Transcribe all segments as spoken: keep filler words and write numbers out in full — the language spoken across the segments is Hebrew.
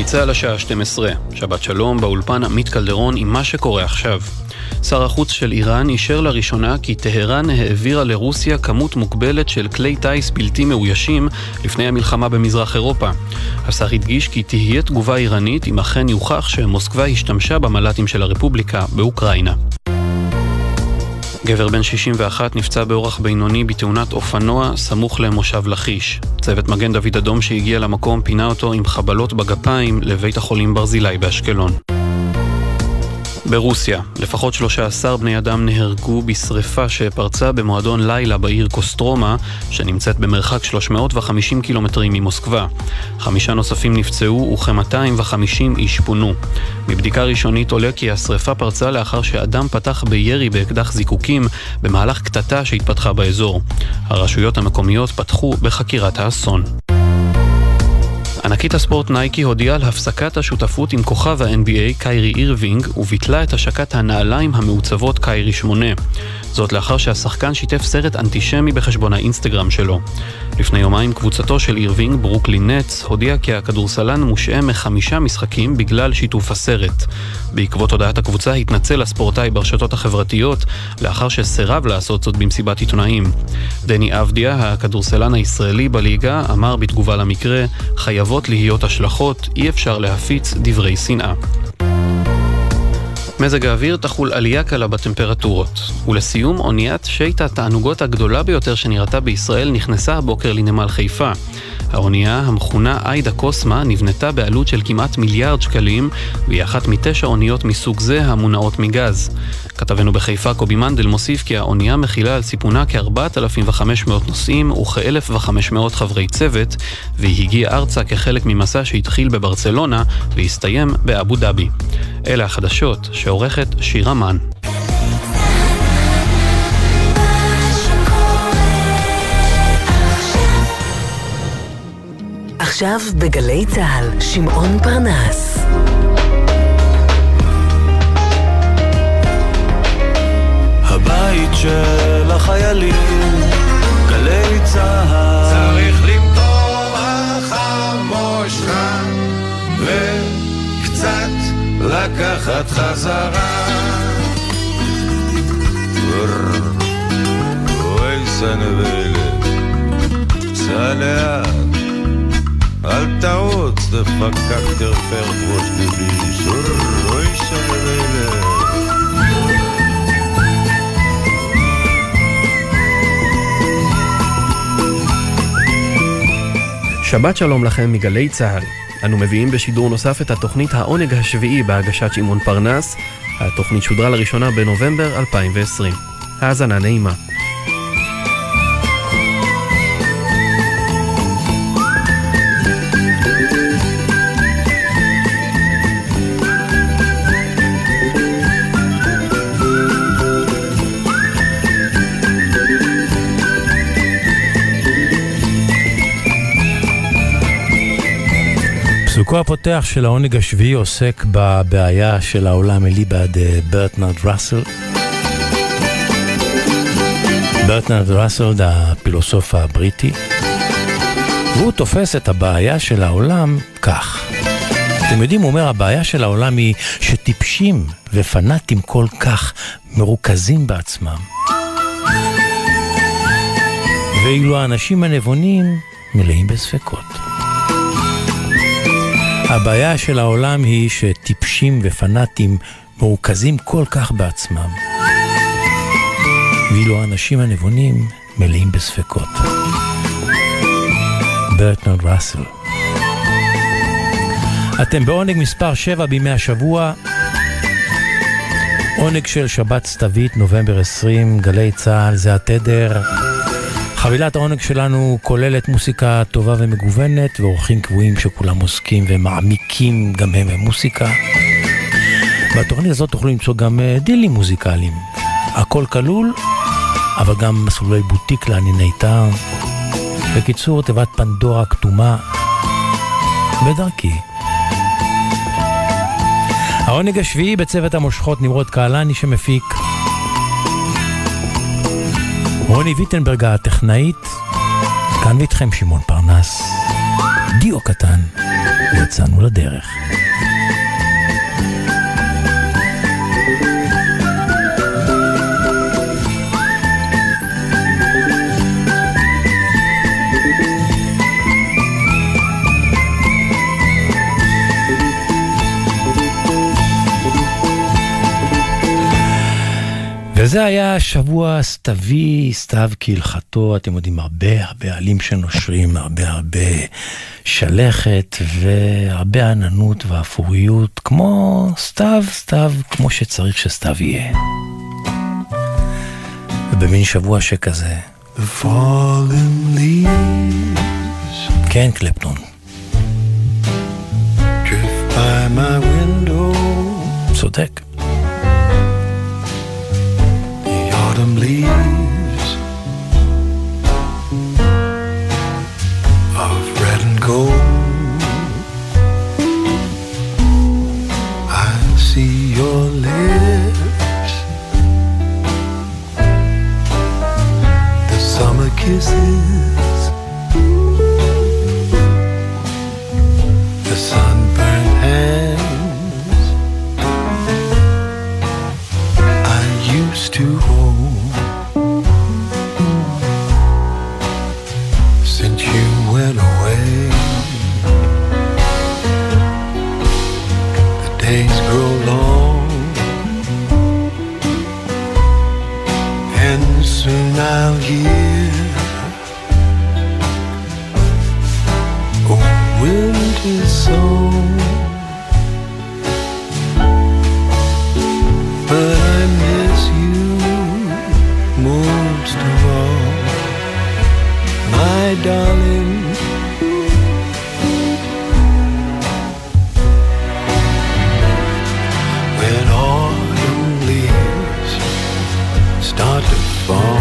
צהל השעה שתים עשרה, שבת שלום, באולפן עמית קלדרון עם מה שקורה עכשיו. שר החוץ של איראן אישר לראשונה כי טהרן העבירה לרוסיה כמות מוגבלת של כלי טייס בלתי מאוישים לפני המלחמה במזרח אירופה. השר הדגיש כי תהיה תגובה איראנית אם אכן יוכח שמוסקבה השתמשה במל"טים של הרפובליקה באוקראינה. גבר בן שישים ואחת נפצע באורח בינוני בתאונת אופנוע סמוך למושב לכיש. צוות מגן דוד אדום שהגיע למקום פינה אותו עם חבלות בגפיים לבית החולים ברזילי באשקלון. ברוסיה, לפחות שלושה עשר בני אדם נהרגו בשריפה שפרצה במועדון לילה בעיר קוסטרומה, שנמצאת במרחק שלוש מאות וחמישים קילומטרים ממוסקבה. חמישה נוספים נפצעו וכ-מאתיים וחמישים איש פונו. מבדיקה ראשונית עולה כי השריפה פרצה לאחר שאדם פתח בירי באקדח זיקוקים במהלך קטטה שהתפתחה באזור. הרשויות המקומיות פתחו בחקירת האסון. ענקית הספורט נייקי הודיעה על הפסקת השותפות עם כוכב ה-אן בי איי קיירי אירווינג וביטלה את השקת הנעליים המעוצבות קיירי שמונה. זאת לאחר שהשחקן שיתף סרט אנטישמי בחשבון האינסטגרם שלו. לפני יומיים קבוצתו של אירווינג, ברוקלין נטס, הודיע כי הכדורסלן מושעה מחמישה משחקים בגלל שיתוף הסרט. בעקבות הודעת הקבוצה התנצל הספורטאי ברשתות החברתיות לאחר שסירב לעשות זאת במסיבת עיתונאים. דני אבדיה, הכדורסלן הישראלי בליגה, אמר בתגובה למקרה, חייבות להיות השלכות, אי אפשר להפיץ דברי שנאה. מזג האוויר תחול עלייה קלה בטמפרטורות. ולסיום, אוניית שייט התענוגות הגדולה ביותר שנראתה בישראל נכנסה הבוקר לנמל חיפה. האונייה, המכונה איידה קוסמה, נבנתה בעלות של כמעט מיליארד שקלים, והיא אחת מתשע אוניות מסוג זה המונעות מגז. כתבנו בחיפה קובי מנדל מוסיף כי האונייה מכילה על סיפונה כ-ארבעת אלפים וחמש מאות נוסעים וכ-אלף וחמש מאות חברי צוות, והיא הגיעה ארצה כחלק ממסע שהתחיל בברצלונה והסתיים באבו דאבי. אלה החדשות שעורכת שירה מן. עכשיו בגלי צהל, שמעון פרנס. הבית של החיילים, גלי צהל. צריך למטור החמושך וקצת לקחת חזרה. אוי סנבלת, סלח אל תעוץ דפקק תרפר ראש נבלי אוי סנבלת. שבת שלום לכם מגלי צהל. אנו מביאים בשידור נוסף את התוכנית העונג השביעי בהגשת שמעון פרנס. התוכנית שודרה לראשונה בנובמבר אלפיים ועשרים. האזנה נעימה. פסוקו הפותח של העונג השביעי עוסק בבעיה של העולם אליבא ברטנרד ראסל. ברטנרד ראסל, הפילוסוף הבריטי, והוא תופס את הבעיה של העולם כך. אתם יודעים, הוא אומר, הבעיה של העולם היא שטיפשים ופנאטים כל כך מרוכזים בעצמם. ואילו האנשים הנבונים מלאים בספקות. הבעיה של העולם היא שטיפשים ופנאטים מרוכזים כל כך בעצמם. ואילו האנשים הנבונים מלאים בספקות. ברטנרד ראסל. אתם בעונג מספר שבע בימי השבוע. עונג של שבת סתווית, נובמבר עשרים, גלי צהל, זה התדר. חבילת העונג שלנו כוללת מוסיקה טובה ומגוונת, ואורחים קבועים שכולם עוסקים ומעמיקים גם הם במוסיקה. בתוכנית הזאת תוכלו למצוא גם דילים מוזיקליים. הכל כלול, אבל גם מסלולי בוטיק לענייני טעם. בקיצור, תיבת פנדורה כתומה בדרכי. העונג השביעי בצוות המושכות נמרוד קהלני שמפיק. רוני ויטנברג הטכנאית, כאן ואיתכם שמעון פרנס, דיו קטן. יצאנו לדרך. וזה היה שבוע סתווי, סתיו כהלכתו, אתם יודעים, הרבה הרבה עלים שנושרים, הרבה הרבה שלכת והרבה עננות ואפוריות, כמו סתיו, סתיו, כמו שצריך שסתיו יהיה. ובמין שבוע שכזה, The fallen leaves כן, קלפטון. drift by my window. צודק. Autumn leaves of red and gold. I see your lips, the summer kisses, the sunburned hands I used to hold. Went away. The days grow long, and soon I'll hear a winter song. But I miss you most of all, my darling. Start to fall.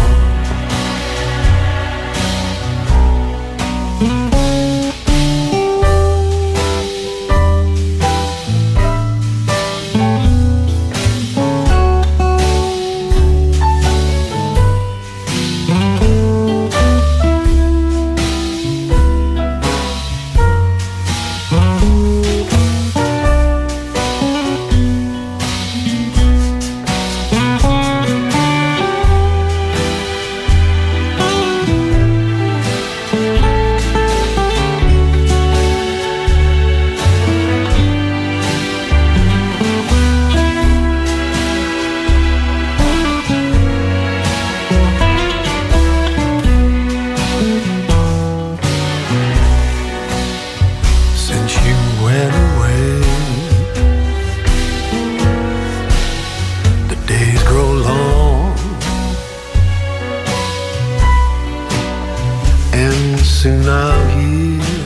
Soon I'll hear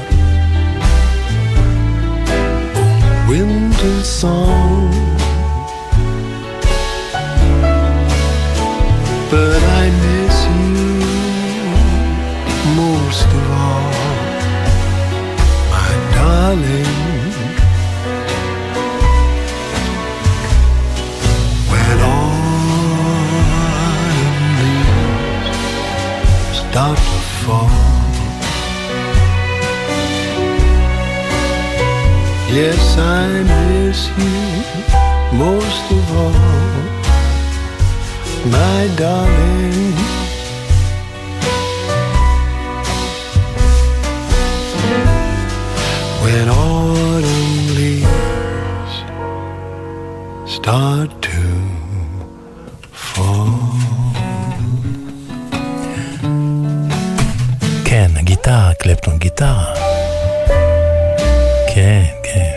a winter song, but I miss you most of all, my darling. When autumn leaves start to fall, yes, I miss you most of all, my darling. When autumn leaves start to fall. כן, הגיטרה, קלפטון, גיטרה. כן, כן.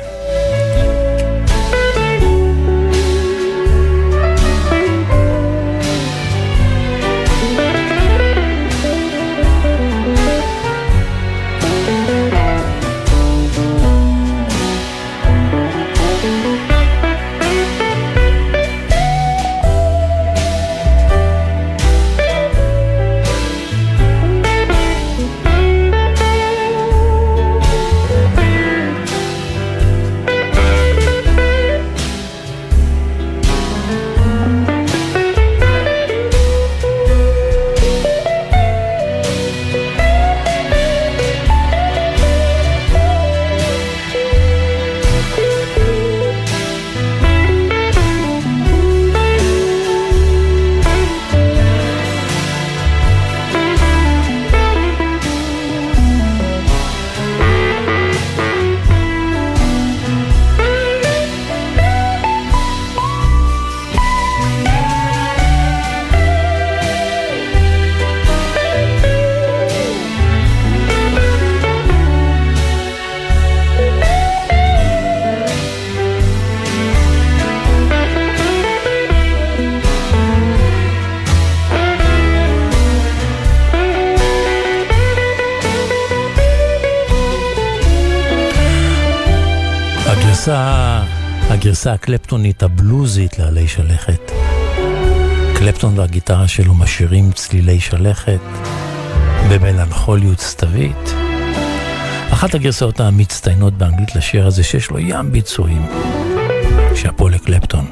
הגרסה, הגרסה הקלפטונית הבלוזית לעלי שלכת. קלפטון והגיטרה שלו משאירים צלילי שלכת במלנכוליות סתווית. אחת הגרסאות המצטיינות באנגלית לשיר הזה שיש לו ים ביצועים. שאפו לקלפטון.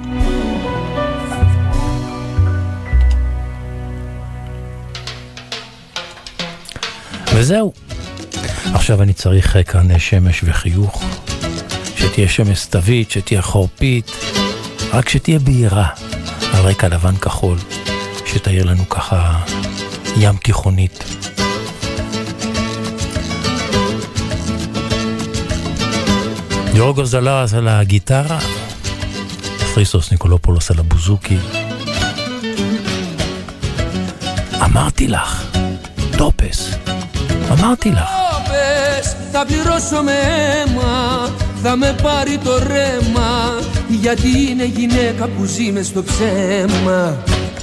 וזהו. עכשיו אני צריך כאן שמש וחיוך. שתהיה שמש סתווית, שתהיה חורפית, רק שתהיה בהירה, על רקע לבן כחול, שתאיר לנו ככה ים תיכונית. יורגוס דלרס על הגיטרה, כריסטוס ניקולופולוס על הבוזוקי. אמרתי לך, טופס, אמרתי לך. Τόπες, θα πληρώσω με αίμα, θα με πάρει το ρέμα, γιατί είναι γυναίκα που ζει μες στο ψέμα.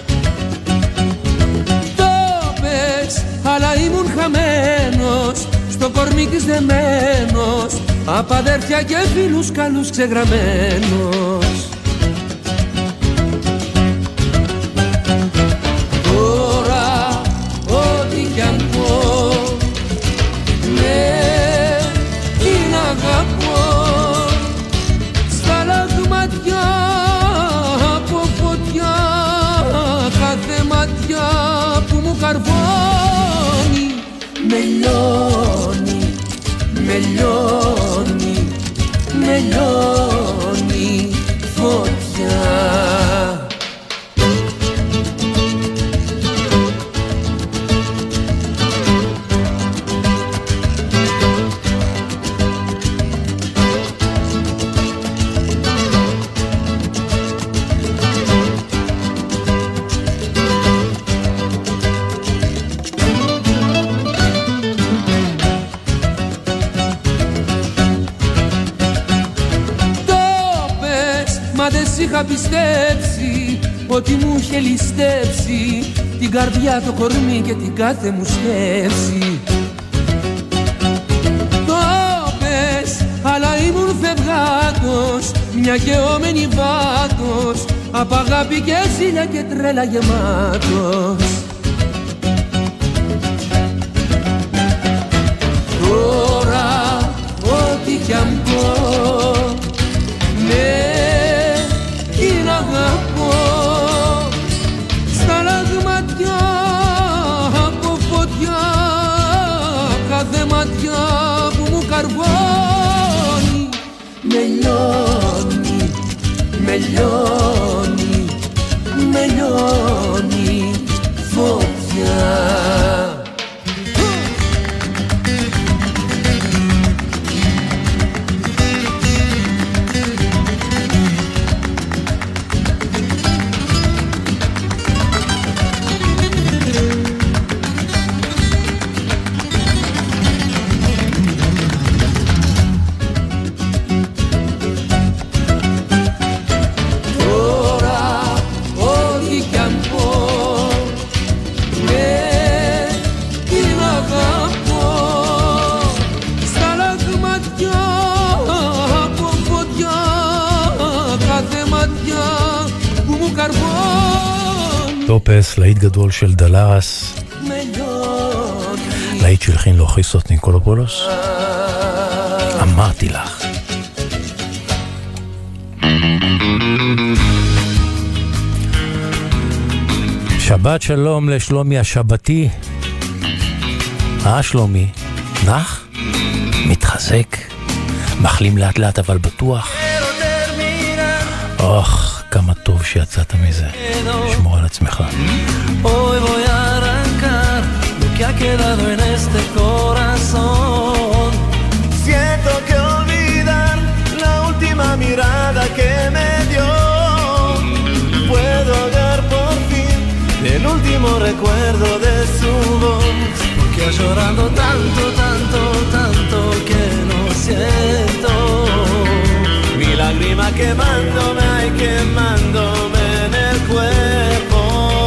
Τόπες, αλλά ήμουν χαμένος, στο κορμί της δεμένος, απ' αδέρφια και φίλους καλούς ξεγραμμένος. Τώρα, ό,τι κι αν πω, ναι, την αγαπώ. Στα λαγματιά από φωτιά, κάθε ματιά που μου καρβώνει, με λιώνει, με λιώνει, με λιώνει φωτιά. Είχα πιστέψει ότι μου είχε ληστέψει την καρδιά, το κορμί και την κάθε μου σκέψη. Το πες, αλλά ήμουν φευγάτος, μια γεωμένη βάτος, απ' αγάπη και ζήλια και τρέλα γεμάτος. Τώρα, ό,τι κι αν πω, ναι, την αγαπώ. Στα λαγματιά από φωτιά, κάθε ματιά που μου καρβώνει, με λιώνει, με λιώνει, με λιώνει φωτιά. טופס, להיט גדול של דלרס, להיט שהלחין לו כריסטוס ניקולופולוס. אמרתי לך. שבת שלום לשלומי השבתי. אה שלומי, נח? מתחזק? מחלים לאט לאט אבל בטוח? אוח, כמה טוב שיצאת מזה. שמור על עצמך. Hoy voy a arrancar lo que ha quedado en este corazón. Siento que olvidar la última mirada que me dio. Puedo hallar por fin el último recuerdo de su voz. Que llorando tanto, tanto, tanto que no siento. Mi lágrima quemándome, ay, quemándome en el cuerpo.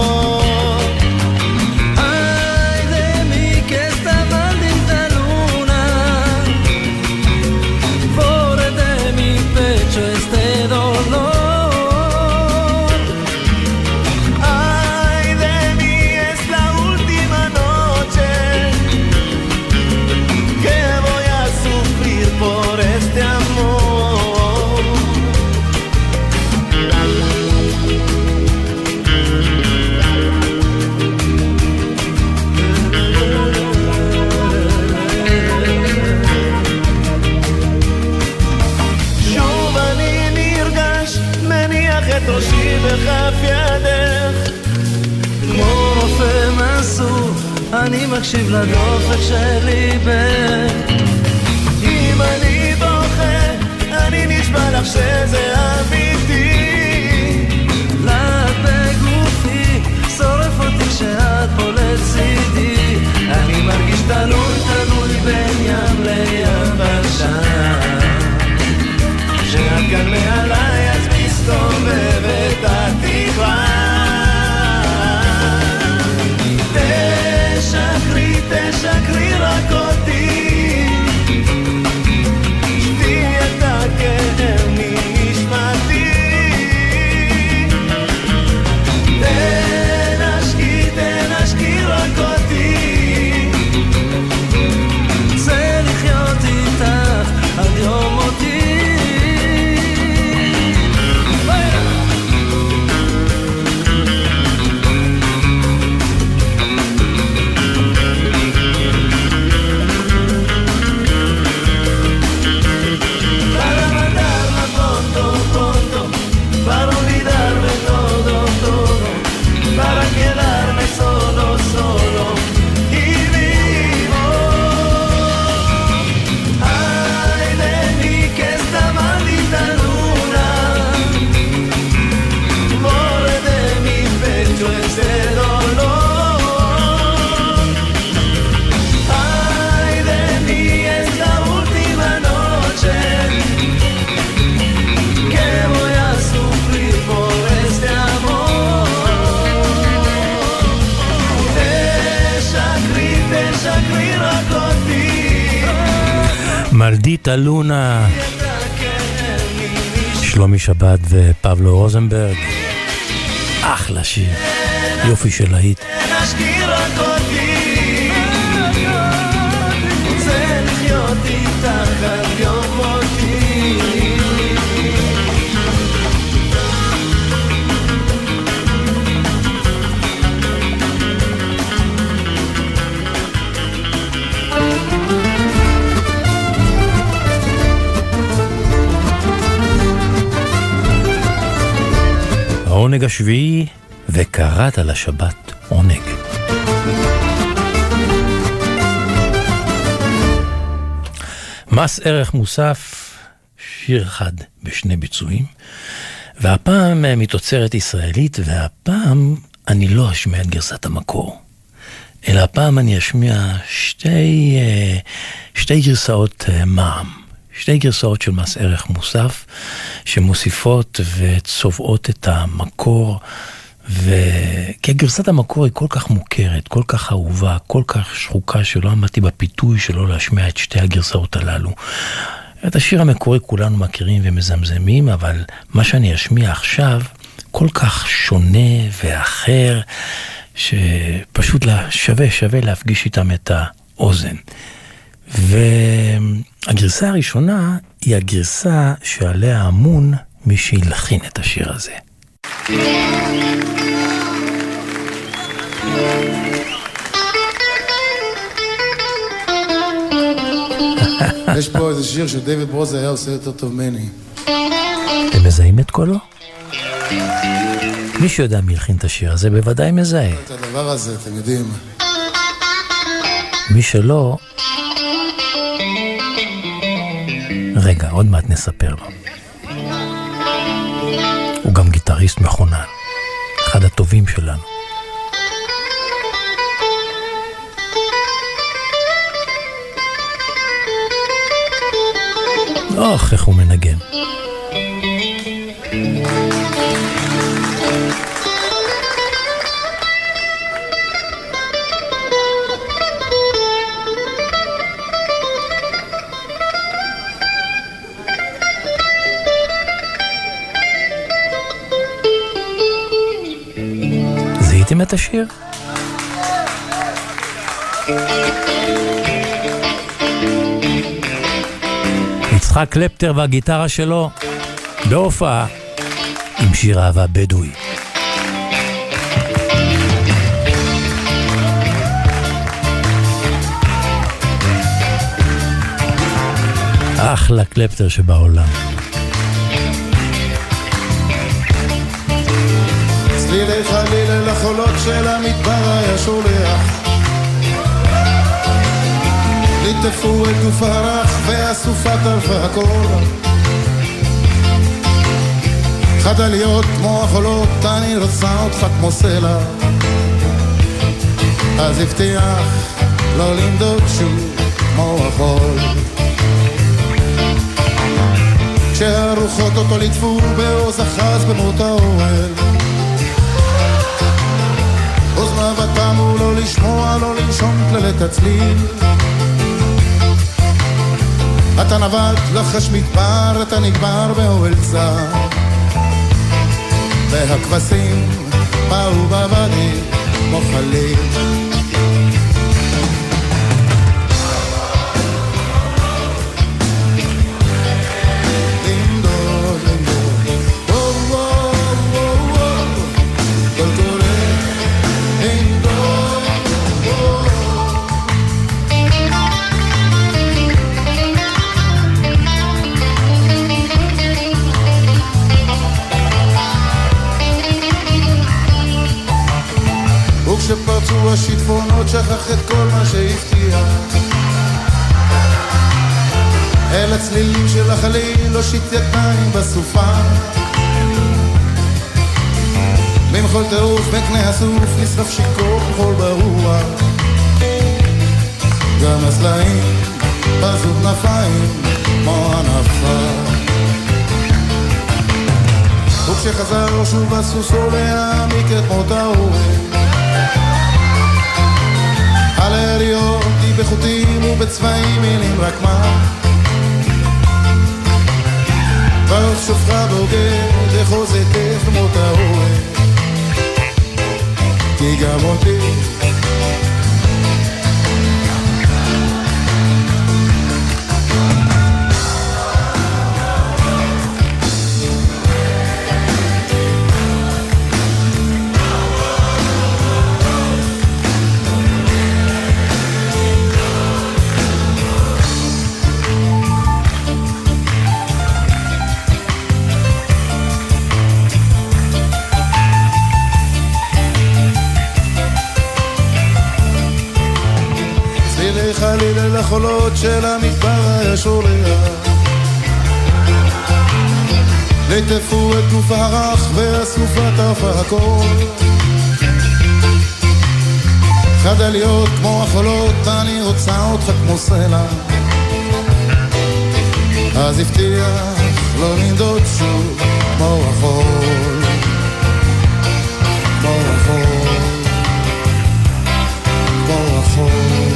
Ay de mí que esta maldita luna por de mi pecho. אני מקשיב לדופק שלי בין. אם אני בוכה, אני נשבע לך שזה אמיתי. לאט בגופי, שורף אותי כשאת פה לצידי. אני מרגיש תלוי תלוי בין ים ליבשה. כשאת כאן מעליי אז מסתובבת התקווה. תשקרי, תשקרי רק אותי, שתי את הכאב מנשמתי. תנשקי, תנשקי רק אותי, זה לחיות איתך עד יום מותי. מלדיטה לונה, שלומי שבת ופבלו רוזנברג. אחלה שיר, יופי של להיט. זה לחיות איתך עד יום מותי. העונג השביעי, וקראת לשבת עונג. מס ערך מוסף, שיר אחד בשני ביצועים, והפעם מתוצרת ישראלית, והפעם אני לא אשמיע את גרסת המקור, אלא הפעם אני אשמיע שתי, שתי גרסאות מע"מ. שתי גרסאות של מס ערך מוסף שמוסיפות וצובעות את המקור, וכי גרסת המקור היא כל כך מוכרת, כל כך אהובה, כל כך שחוקה, שלא עמדתי בפיתוי שלא להשמיע את שתי הגרסאות הללו. את השיר המקורי כולנו מכירים ומזמזמים, אבל מה שאני אשמיע עכשיו כל כך שונה ואחר, שפשוט שווה שווה להפגיש איתם את האוזן. והגרסה הראשונה היא הגרסה שעליה אמון מי שילחין את השיר הזה. יש פה איזה שיר שדייוויד ברוזה היה עושה יותר טוב ממני. אתם מזהים את קולו? מי שיודע מי ילחין את השיר הזה בוודאי מזהה. את הדבר הזה, אתם יודעים. מי שלא, רגע, עוד מעט נספר לו. הוא גם גיטריסט מכונן, אחד הטובים שלנו. אוח, איך הוא מנגן. זיהיתם את השיר? יצחק קלפטר והגיטרה שלו בהופעה עם שיר אהבה בדואי. אחלה קלפטר שבעולם. צלילי חלילה לחולות של המדבר היה שולח, ליטפו את גוף הרך והסופה טרפה הכל. חדה להיות כמו החולות, אני רוצה אותך כמו סלע. אז הבטיח לא למדוד שוב כמו החול. כשהרוחות אותו ליטפו בעוז אחז במות האוהל. אוזניו תמו לא לשמוע, לא לנשום כללת הצליל. אתה נבט לחש מדבר, אתה נגמר באוהל צר. והכבשים באו בבדי כמו חליל. כשפרצו השיטפונות שכח את כל מה שהבטיח. אל הצלילים של החליל לא שיט ידיים בסופה. במחול טירוף בקנה הסוף נשרף שיקור חול ברוח. גם הסלעים בזו כנפיים כמו הנפה. וכשחזר שוב הסוסו להעמיק את מות האוהל. על היריות היא בחוטים ובצבעים מילים רק מה. ועוז שופחה בוגד לחוזתך מות האוהל. כי גם אותי חליל אל החולות של המדבר הישורח. ליטפו את גוף הרך והסופה טרפה הכל. חדה להיות כמו החולות, אני רוצה אותך כמו סלע. אז הבטיח לא לנדוד שוב כמו החול. כמו החול, כמו החול.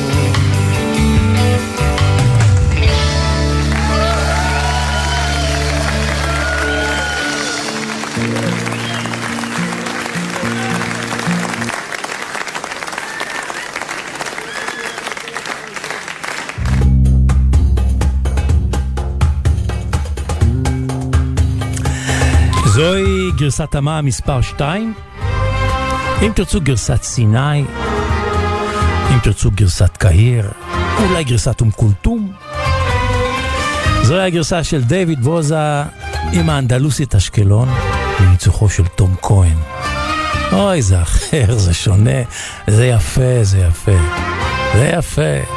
זוהי גרסת תמה מספר שתיים. אם תרצו גרסת סיני, אם תרצו גרסת קהיר, אולי גרסת אום כולתום. זוהי הגרסה של דיוויד בוזה עם האנדלוסית אשקלון בניצוחו של תום כהן. אוי, זה אחר, זה שונה, זה יפה, זה יפה, זה יפה.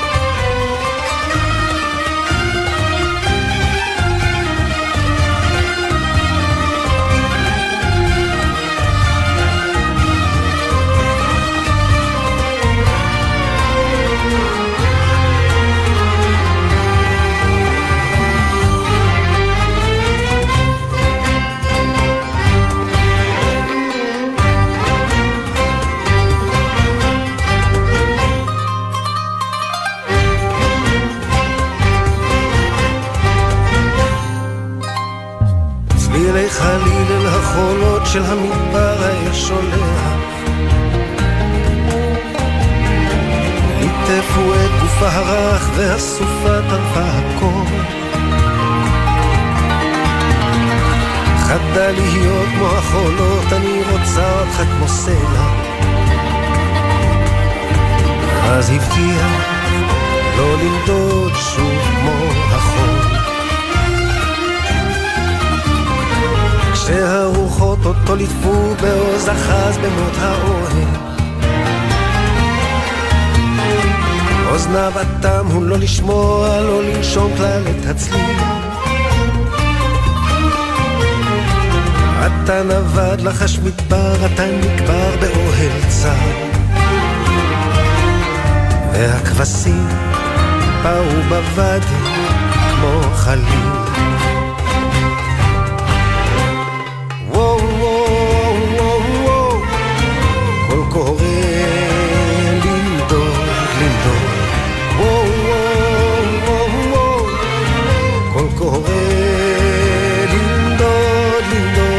חליל אל החולות של המדבר הישולח. ליטפו את גופה הרך והסופה טרפה הכל. חדה להיות כמו החולות, אני רוצה אותך כמו סלע. אז הבטיח לא לנדוד שוב כמו החול. כשהרוחות אותו ליטפו בעוז אחז במות האוהל. אוזניו אטם הוא לא לשמוע, לא לנשום כלל את הצליל. אתה נבד לחש מדבר, אתה נקבר באוהל צר, והכבשים באו בוואדי כמו חליל. וואו וואו וואו וואו, קול קורא לנדוד לנדוד. וואו וואו וואו וואו, קול קורא לנדוד לנדוד.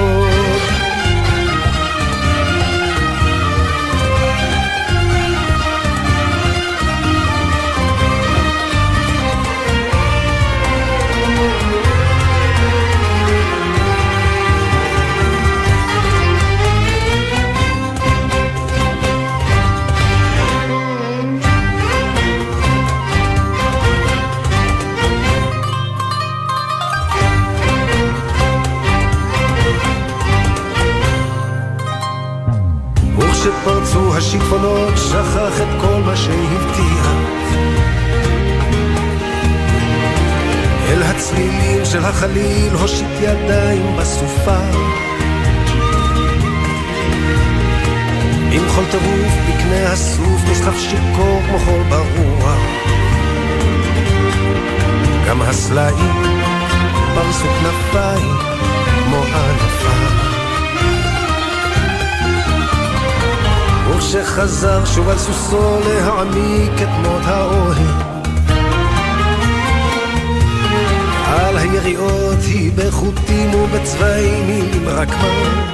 שפרצו השיטפונות שכח את כל מה שהבטיח, אל הצלילים של החליל הושיט ידיים בסופה, עם חול טירוף בקנה הסוף נסחף שיקור כמו חול ברוח. גם הסלעים פרסו כנפיים כמו ענפה, וכשחזר שוב על סוסו להעמיק את מות האוהל, על היריעות היא בחוטים ובצבעים עם רקמה.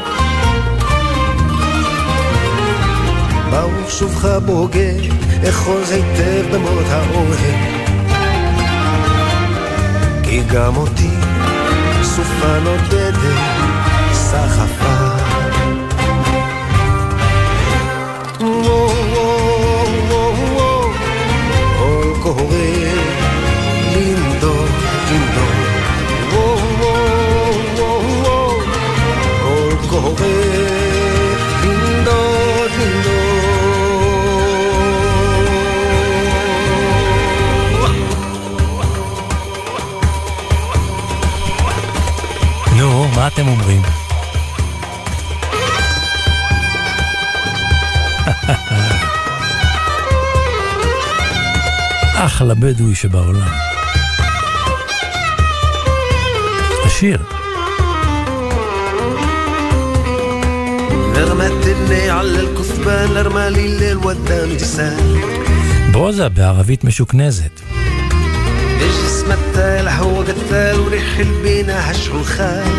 ברוך שובך בוגד, אחוז היטב במות האוהל, כי גם אותי סופה נודדת סחפה. קורא לנדוד לנדוד. וואו וואו וואו וואו, קול קורא לנדוד לנדוד. נו, מה אתם אומרים? אחלה בדואי שבעולם. השיר. נרמתני על אל-כוסבן נרמלי ליל ודם ג'סל. ברוזה בערבית משוכנזת. بجسم التال هو قتال وريح البينا هشعل خال.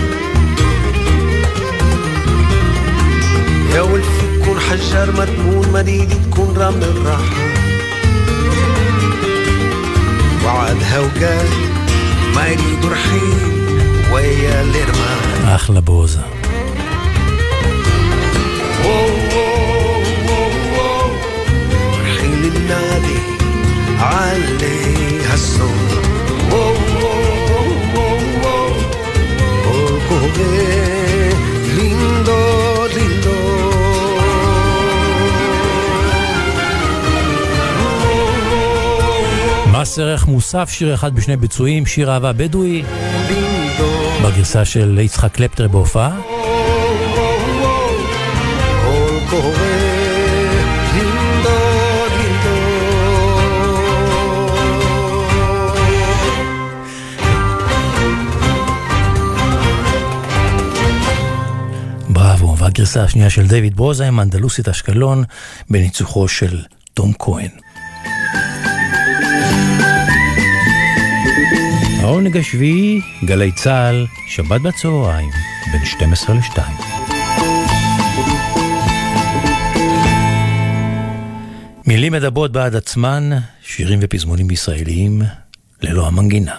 يا ولفي تكون حجار مدمون مديدي تكون رمل الراحة. وعدها وقال ما يريد رحيل ويا الارمان. אחלה ברוזה. رحيل النادي عليها الصوت. لندود מס ערך מוסף, שיר אחד בשני ביצועים, שיר אהבה בדואי בגרסה של יצחק קלפטר בהופעה. בראבו, והגרסה השנייה של דיוויד ברוזה עם אנדלוסית אשקלון בניצוחו של תום כהן. העונג השביעי, גלי צהל, שבת בצהריים, בין שתים עשרה לשתיים. מילים מדברות בעד עצמן, שירים ופזמונים ישראליים, ללא המנגינה.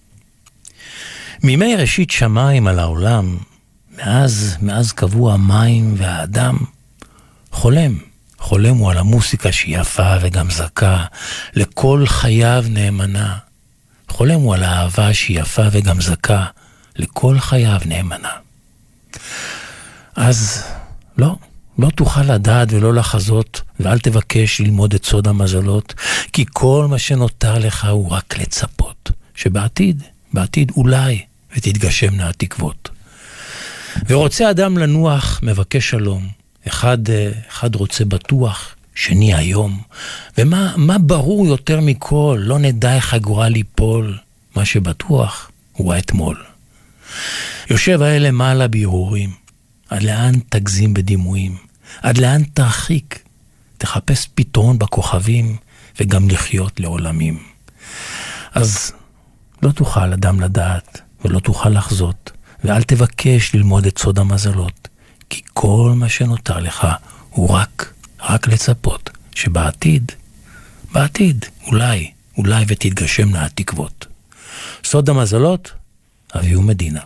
מימי ראשית שמיים על העולם, מאז, מאז קבוע המים והאדם, חולם, חולם הוא על המוסיקה שהיא יפה וגם זכה, לכל חייו נאמנה. חולם הוא על האהבה שהיא יפה וגם זכה, לכל חייו נאמנה. אז לא, לא תוכל לדעת ולא לחזות, ואל תבקש ללמוד את סוד המזלות, כי כל מה שנותר לך הוא רק לצפות, שבעתיד, בעתיד אולי, ותתגשמנה התקוות. ורוצה אדם לנוח, מבקש שלום. אחד, אחד רוצה בטוח, שני היום. ומה מה ברור יותר מכל? לא נדע איך הגורל ליפול. מה שבטוח הוא האתמול. יושב האלה מעלה בהרהורים. עד לאן תגזים בדימויים? עד לאן תרחיק? תחפש פתרון בכוכבים וגם לחיות לעולמים. אז לא תוכל אדם לדעת ולא תוכל לחזות, ואל תבקש ללמוד את סוד המזלות, כי כל מה שנותר לך הוא רק, רק לצפות, שבעתיד, בעתיד, אולי, אולי ותתגשמנה התקוות. סוד המזלות, אביהו מדינה.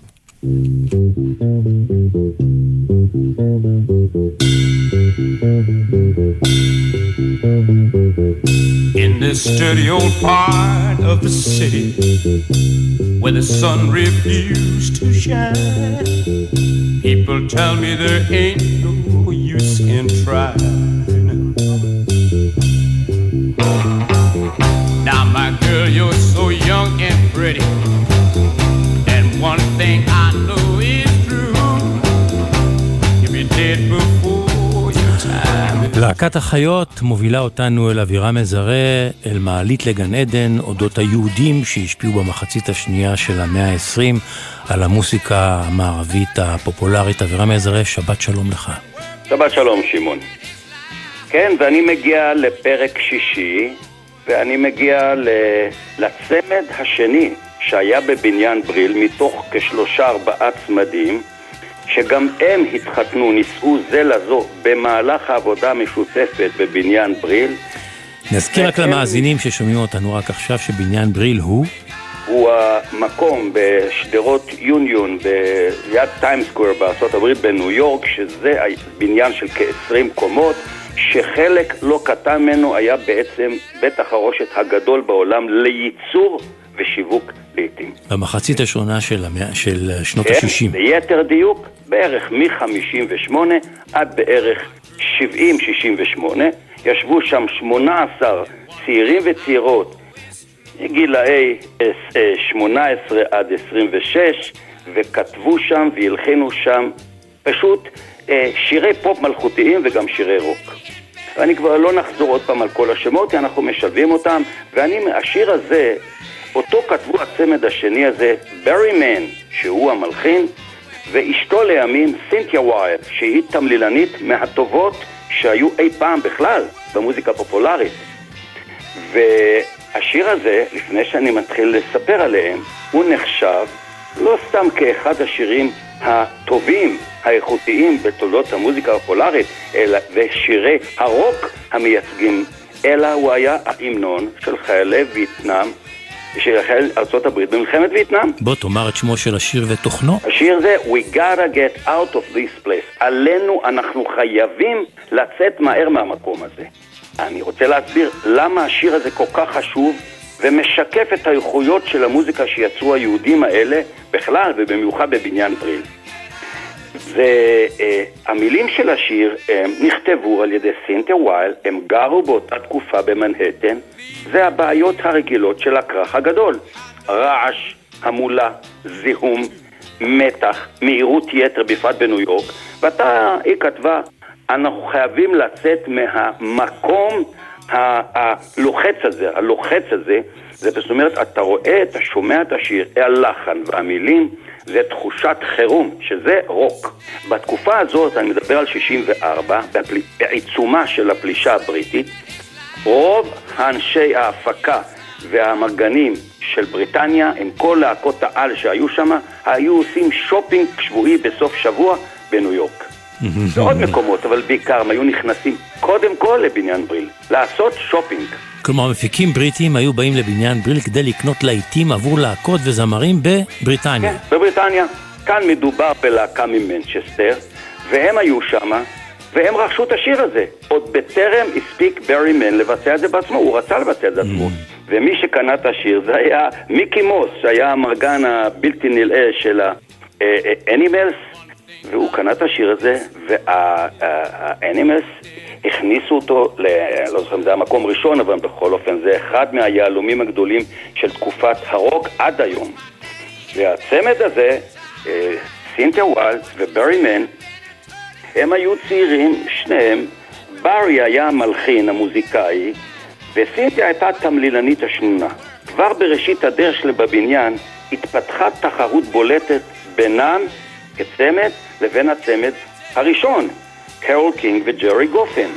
In this dirty old part of the city where the sun refused to shine, people tell me there ain't no use in trying. Now my girl, you're so young and pretty, and one thing I know is true, you'll be dead before your time. להקת החיות מובילה אותנו אל אווירה מזרה, אל מעלית לגן עדן, אודות היהודים שהשפיעו במחצית השנייה של המאה ה-עשרים על המוסיקה המערבית הפופולרית. אווירה מזרה, שבת שלום לך. שבת שלום שמעון. כן, ואני מגיע לפרק שישי, ואני מגיע לצמד השני שהיה בבניין בריל, מתוך כשלושה ארבעה צמדים, שגם הם התחתנו, נישאו זה לזו במהלך העבודה המשותפת בבניין בריל. נזכיר רק למאזינים ששומעים אותנו רק עכשיו שבניין בריל הוא? הוא המקום בשדרות יוניון ביד טיים סקוואר בארצות הברית בניו יורק, שזה בניין של כ-עשרים קומות, שחלק לא קטן ממנו היה בעצם בית החרושת הגדול בעולם לייצור ושיווק לעתים. במחצית השונה של, המאה, של שנות ה-שישים. ביתר דיוק, בערך מ-חמישים ושמונה עד בערך שבעים שישים ושמונה, ישבו שם שמונה עשר צעירים וצעירות, גילאי שמונה עשרה עד עשרים ושש, וכתבו שם והלחינו שם פשוט שירי פופ מלכותיים וגם שירי רוק. אני כבר לא נחזור עוד פעם על כל השמות, כי אנחנו משלבים אותם, ואני, השיר הזה, אותו כתבו הצמד השני הזה, ברי מן, שהוא המלחין, ואשתו לימים, סינתיה ווייל, שהיא תמלילנית מהטובות שהיו אי פעם בכלל במוזיקה פופולרית. והשיר הזה, לפני שאני מתחיל לספר עליהם, הוא נחשב לא סתם כאחד השירים הטובים, האיכותיים בתולדות המוזיקה הפופולרית, אלא ושירי הרוק המייצגים, אלא הוא היה ההמנון של חיילי וייטנאם, של חיילי ארצות הברית במלחמת וייטנאם. בוא תאמר את שמו של השיר ותוכנו. השיר זה We gotta get out of this place. עלינו, אנחנו חייבים לצאת מהר מהמקום הזה. אני רוצה להסביר למה השיר הזה כל כך חשוב ומשקף את האיכויות של המוזיקה שיצרו היהודים האלה בכלל ובמיוחד בבניין בריל. והמילים של השיר הם נכתבו על ידי סינתיה ווייל, הם גרו באותה תקופה במנהטן, זה הבעיות הרגילות של הכרך הגדול, רעש, המולה, זיהום, מתח, מהירות יתר בפרט בניו יורק, ואתה, היא כתבה, אנחנו חייבים לצאת מהמקום הלוחץ הזה, הלוחץ הזה, זה זאת אומרת, אתה רואה, אתה שומע את השיר, הלחן והמילים, זה תחושת חירום, שזה רוק. בתקופה הזאת, אני מדבר על שישים וארבע, בעיצומה של הפלישה הבריטית, רוב האנשי ההפקה והמרגנים של בריטניה, עם כל להקות העל שהיו שם, היו עושים שופינג שבועי בסוף שבוע בניו יורק. ועוד מקומות, אבל בעיקר הם היו נכנסים קודם כל לבניין בריל, לעשות שופינג. כלומר, מפיקים בריטים היו באים לבניין בריל כדי לקנות להיטים עבור להקות וזמרים בבריטניה. כן, בבריטניה. כאן מדובר בלהקה ממנצ'סטר, והם היו שם, והם רכשו את השיר הזה. עוד בטרם הספיק ברי מן לבצע את זה בעצמו, הוא רצה לבצע את זה עצמו. ומי שקנה את השיר זה היה מיקי מוס, שהיה המרגן הבלתי נלאה של האנימלס, והוא קנה את השיר הזה, והאנימס הכניסו אותו, לא זוכר אם זה המקום ראשון, אבל בכל אופן זה אחד מהיהלומים הגדולים של תקופת הרוק עד היום. והצמד הזה, סינתיה ווילס וברי מן, הם היו צעירים, שניהם. ברי היה המלחין, המוזיקאי, וסינתיה הייתה תמלילנית השנונה. כבר בראשית הדרך שלה בבניין התפתחה תחרות בולטת בינם כצמד לבין הצמד הראשון, קרול קינג וג'רי גופן.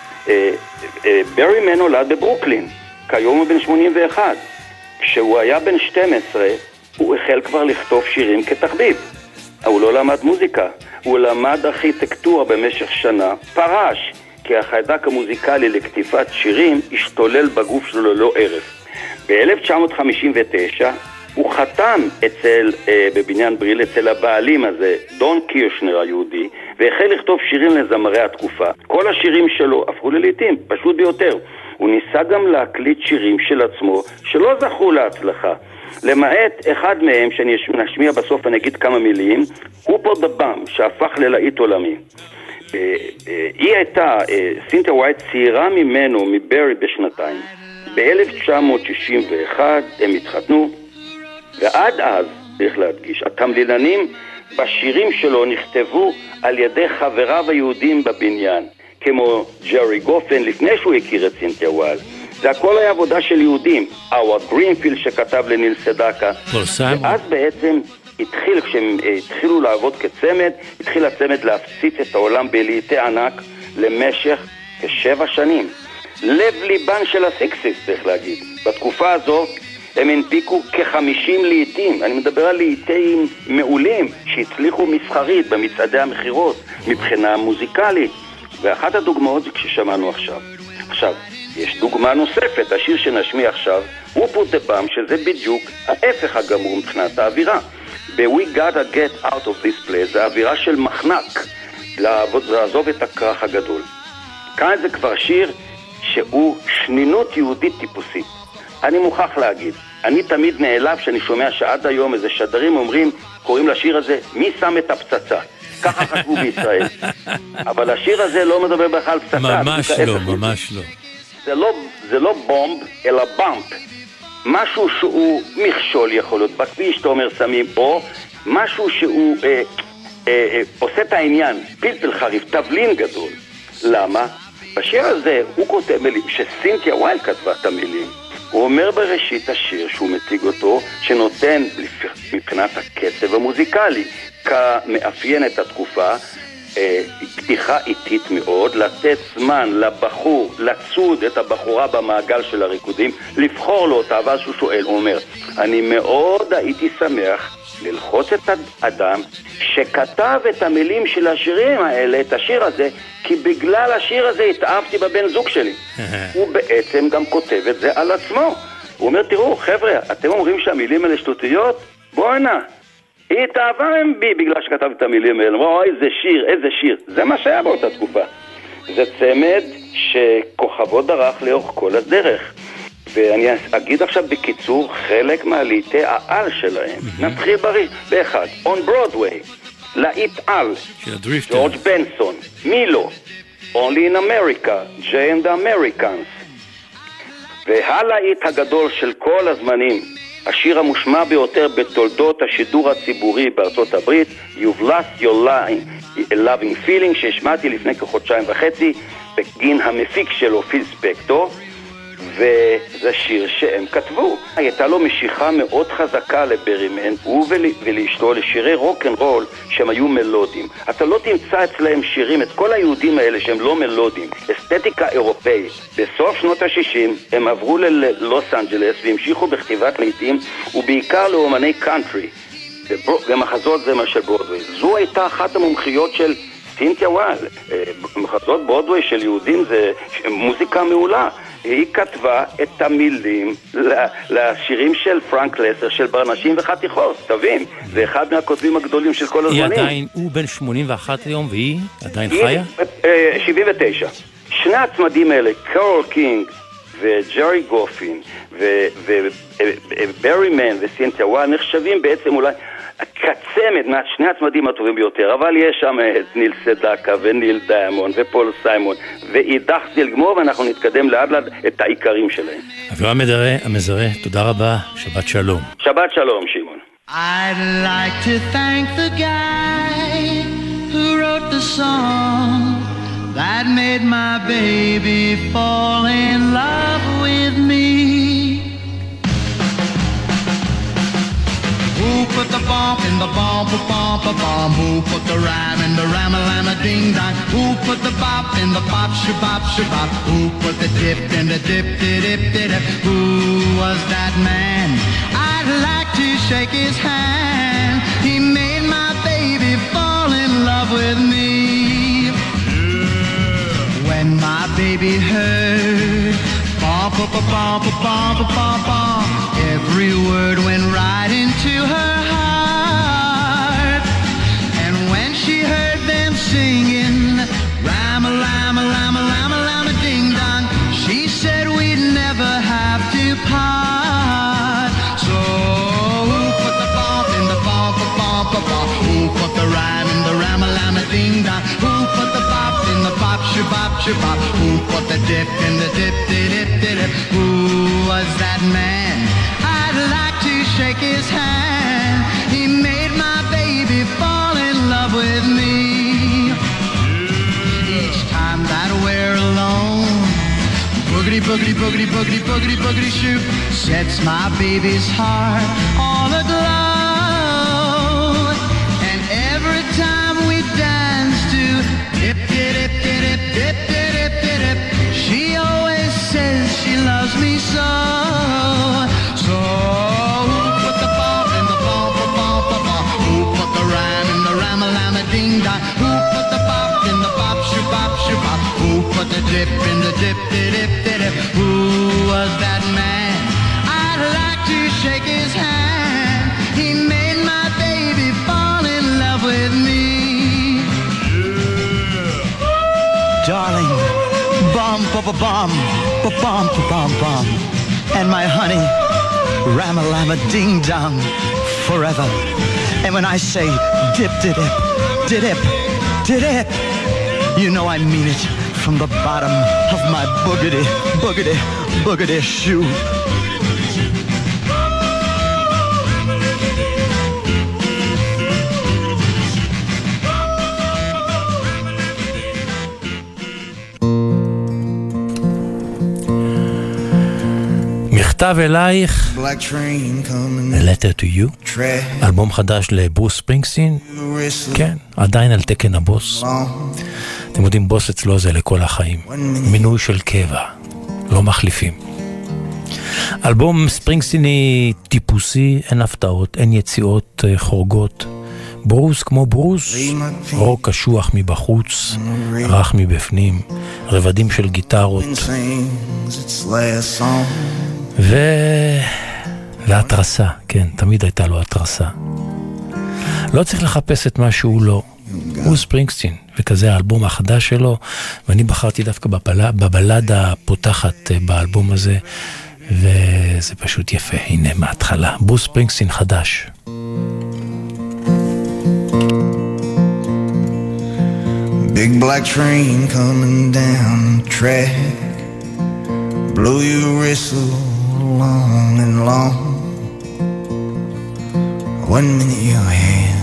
ברי מן נולד בברוקלין, כיום הוא בן שמונים ואחת. כשהוא היה בן שתים עשרה, הוא החל כבר לכתוב שירים כתחביב. הוא לא למד מוזיקה, הוא למד ארכיטקטורה במשך שנה, פרש, כי החיידק המוזיקלי לכתיבת שירים השתולל בגוף שלו ללא ערף. ב-אלף תשע מאות חמישים ותשע הוא חתם אצל, אה, בבניין בריל אצל הבעלים הזה, דון קירשנר היהודי, והחל לכתוב שירים לזמרי התקופה. כל השירים שלו הפכו ללעיתים, פשוט ביותר. הוא ניסה גם להקליט שירים של עצמו שלא זכו להצלחה. למעט אחד מהם שאני נשמיע בסוף אני אגיד כמה מילים, הופו דה באם, שהפך ללהיט עולמי. היא הייתה, סינתיה ווילס צעירה ממנו, מברי בשנתיים. ב-אלף תשע מאות שישים ואחת הם התחתנו, ועד אז, צריך להדגיש, התמלילנים בשירים שלו נכתבו על ידי חבריו היהודים בבניין, כמו ג'רי גופן לפני שהוא הכיר את סינתיה ווילס. זה הכל היה עבודה של יהודים. אווארד גרינפילד שכתב לניל סדקה. ואז בעצם התחיל, כשהם התחילו לעבוד כצמד, התחיל הצמד להפציץ את העולם בלהיטי ענק למשך כשבע שנים. לב ליבן של הסיקסיס, צריך להגיד. בתקופה הזו הם הנפיקו כחמישים לעיתים. אני מדבר על לעיתים מעולים שהצליחו מסחרית במצעדי המחירות מבחינה מוזיקלית. ואחת הדוגמאות זה כששמענו עכשיו. עכשיו, יש דוגמה נוספת, השיר שנשמיע עכשיו, הוא פוט דה באם, שזה בדיוק ההפך הגמור מבחינת האווירה. ב-We gotta get out of this place, זה האווירה של מחנק, לעזוב את הכרך הגדול. כאן זה כבר שיר שהוא שנינות יהודית טיפוסית. אני מוכרח להגיד, אני תמיד נעלב שאני שומע שעד היום איזה שדרים אומרים, קוראים לשיר הזה, מי שם את הפצצה? ככה חשבו בישראל. אבל השיר הזה לא מדבר בכלל על פצצה. ממש לא, ממש לא. זה לא, זה לא בומב, אלא באמפ. משהו שהוא מכשול יכול להיות, בכביש אתה אומר שמים, או משהו שהוא אה, אה, אה, עושה את העניין, פלפל חריף, תבלין גדול. למה? בשיר הזה הוא כותב מילים, שסינתיה ווילס כתבה את המילים. הוא אומר בראשית השיר שהוא מציג אותו, שנותן מבחינת הקצב המוזיקלי, כמאפיין את התקופה, פתיחה איטית מאוד, לתת זמן לבחור, לצוד את הבחורה במעגל של הריקודים, לבחור לו אותה, ואז הוא שואל, הוא אומר, אני מאוד הייתי שמח ללחוץ את האדם שכתב את המילים של השירים האלה, את השיר הזה, כי בגלל השיר הזה התאהבתי בבן זוג שלי. הוא בעצם גם כותב את זה על עצמו. הוא אומר, תראו, חבר'ה, אתם אומרים שהמילים האלה שטותיות? בואו הנה. היא התאהבה בי בגלל שכתב את המילים האלה. אמרו, איזה שיר, איזה שיר. זה מה שהיה באותה תקופה. זה צמד שכוכבו דרך לאורך כל הדרך. ואני אגיד עכשיו בקיצור חלק מהליטי העל שלהם. נתחיל בריא, באחד. On Broadway, להיט על, ג'ורג' בנסון, מילו, Only in America, Jay and the Americans. והלהיט הגדול של כל הזמנים, השיר המושמע ביותר בתולדות השידור הציבורי בארצות הברית, You've Lost Your Line, Loving Feeling, שהשמעתי לפני כחודשיים וחצי, בגין המפיק שלו, פיל ספקטור, וזה שיר שהם כתבו. הייתה לו משיכה מאוד חזקה לברימן, הוא ולאשתו, לשירי רוק אנד רול שהם היו מלודיים. אתה לא תמצא אצלהם שירים, את כל היהודים האלה שהם לא מלודיים, אסתטיקה אירופאית. בסוף שנות ה-שישים הם עברו ללוס אנג'לס והמשיכו בכתיבת לעיתים, ובעיקר לאומני קאנטרי, ומחזות זה מה של ברודווי. זו הייתה אחת המומחיות של סינתיה ווילס. מחזות ברודווי של יהודים זה מוזיקה מעולה. היא כתבה את המילים לשירים של פרנק לסר, של ברנשים וחתיכות, תבין, זה אחד מהכותבים הגדולים של כל הזמנים. היא עדיין, הוא בן שמונים ואחת היום, והיא עדיין חיה? שבעים ותשע. שני הצמדים האלה, קרול קינג וג'רי גופין וברי מן וסינתיה ווילס, נחשבים בעצם אולי הקצמת, שני הצמדים הטובים ביותר, אבל יש שם את ניל סדקה וניל דיימון ופול סיימון ואידך זילגמור, ואנחנו נתקדם לאט לאט את העיקרים שלהם. אבירם המזרה, תודה רבה, שבת שלום. שבת שלום, שמעון. I'd like to thank the guy who wrote the song that made my baby fall in love with me. Who put the bump in the bump, a bump, a bump? Who put the rhyme in the rama-lama ding-dong? Who put the bop in the bop, shabop, shabop? Who put the dip in the dip-dip-dip-dip? Who was that man? I'd like to shake his hand. He made my baby fall in love with me. When my baby heard bump, bump, bump, bump, bump, bump, every word went right into her heart. And when she heard them singing Rama, Lama, Lama, Lama, Lama, Ding Dong, she said we'd never have to part. So who put the bump in the bump, bump, bump, bump? Who put the rhyme in the Rama, Lama, Ding Dong? Who put the bop in the bop, shabop, shabop? Who put the dip in the dip, dip, dip, dip? Who was that man? I'd like to shake his hand. He made my baby fall in love with me. Each time that we're alone, boogity, boogity, boogity, boogity, boogity, boogity shoot sets my baby's heart all aglow. And every time we dance to dip, dip, dip, dip, dip, dip, dip, dip, she always says she loves me so. So who put the bump in the bump, bump, bump, bump? Who put the rhyme in the rama-lama ding-dong? Who put the bop in the bop, shabop, shabop? Who put the dip in the dip, dip, dip, dip? Who was that man? I'd like to shake his hand. He made my baby fall in love with me. Darling, bum, bum, bum, bum, bum, bum, and my honey, Rama-lama ding-dong, forever. And when I say dip, dip, dip, dip, dip, you know I mean it from the bottom of my boogity, boogity, boogity shoe. מכתב אלייך, A Letter to You, אלבום חדש לברוס ספרינגסטין, כן, עדיין על תקן הבוס. אתם יודעים, בוס אצלו זה לכל החיים, מינוי של קבע, לא מחליפים. אלבום ספרינגסטיני טיפוסי, אין הפתעות, אין יציאות חורגות. ברוס כמו ברוס, רוק קשוח מבחוץ, רך מבפנים, רבדים של גיטרות ו... והתרסה, כן, תמיד הייתה לו התרסה. לא צריך לחפש את מה שהוא לא, הוא ספרינגסטין, וכזה האלבום החדש שלו, ואני בחרתי דווקא בבלד, בבלדה הפותחת באלבום הזה, וזה פשוט יפה, הנה מההתחלה, ברוס ספרינגסטין חדש. Big black train coming down the track, blow your whistle long and long. One minute you're here,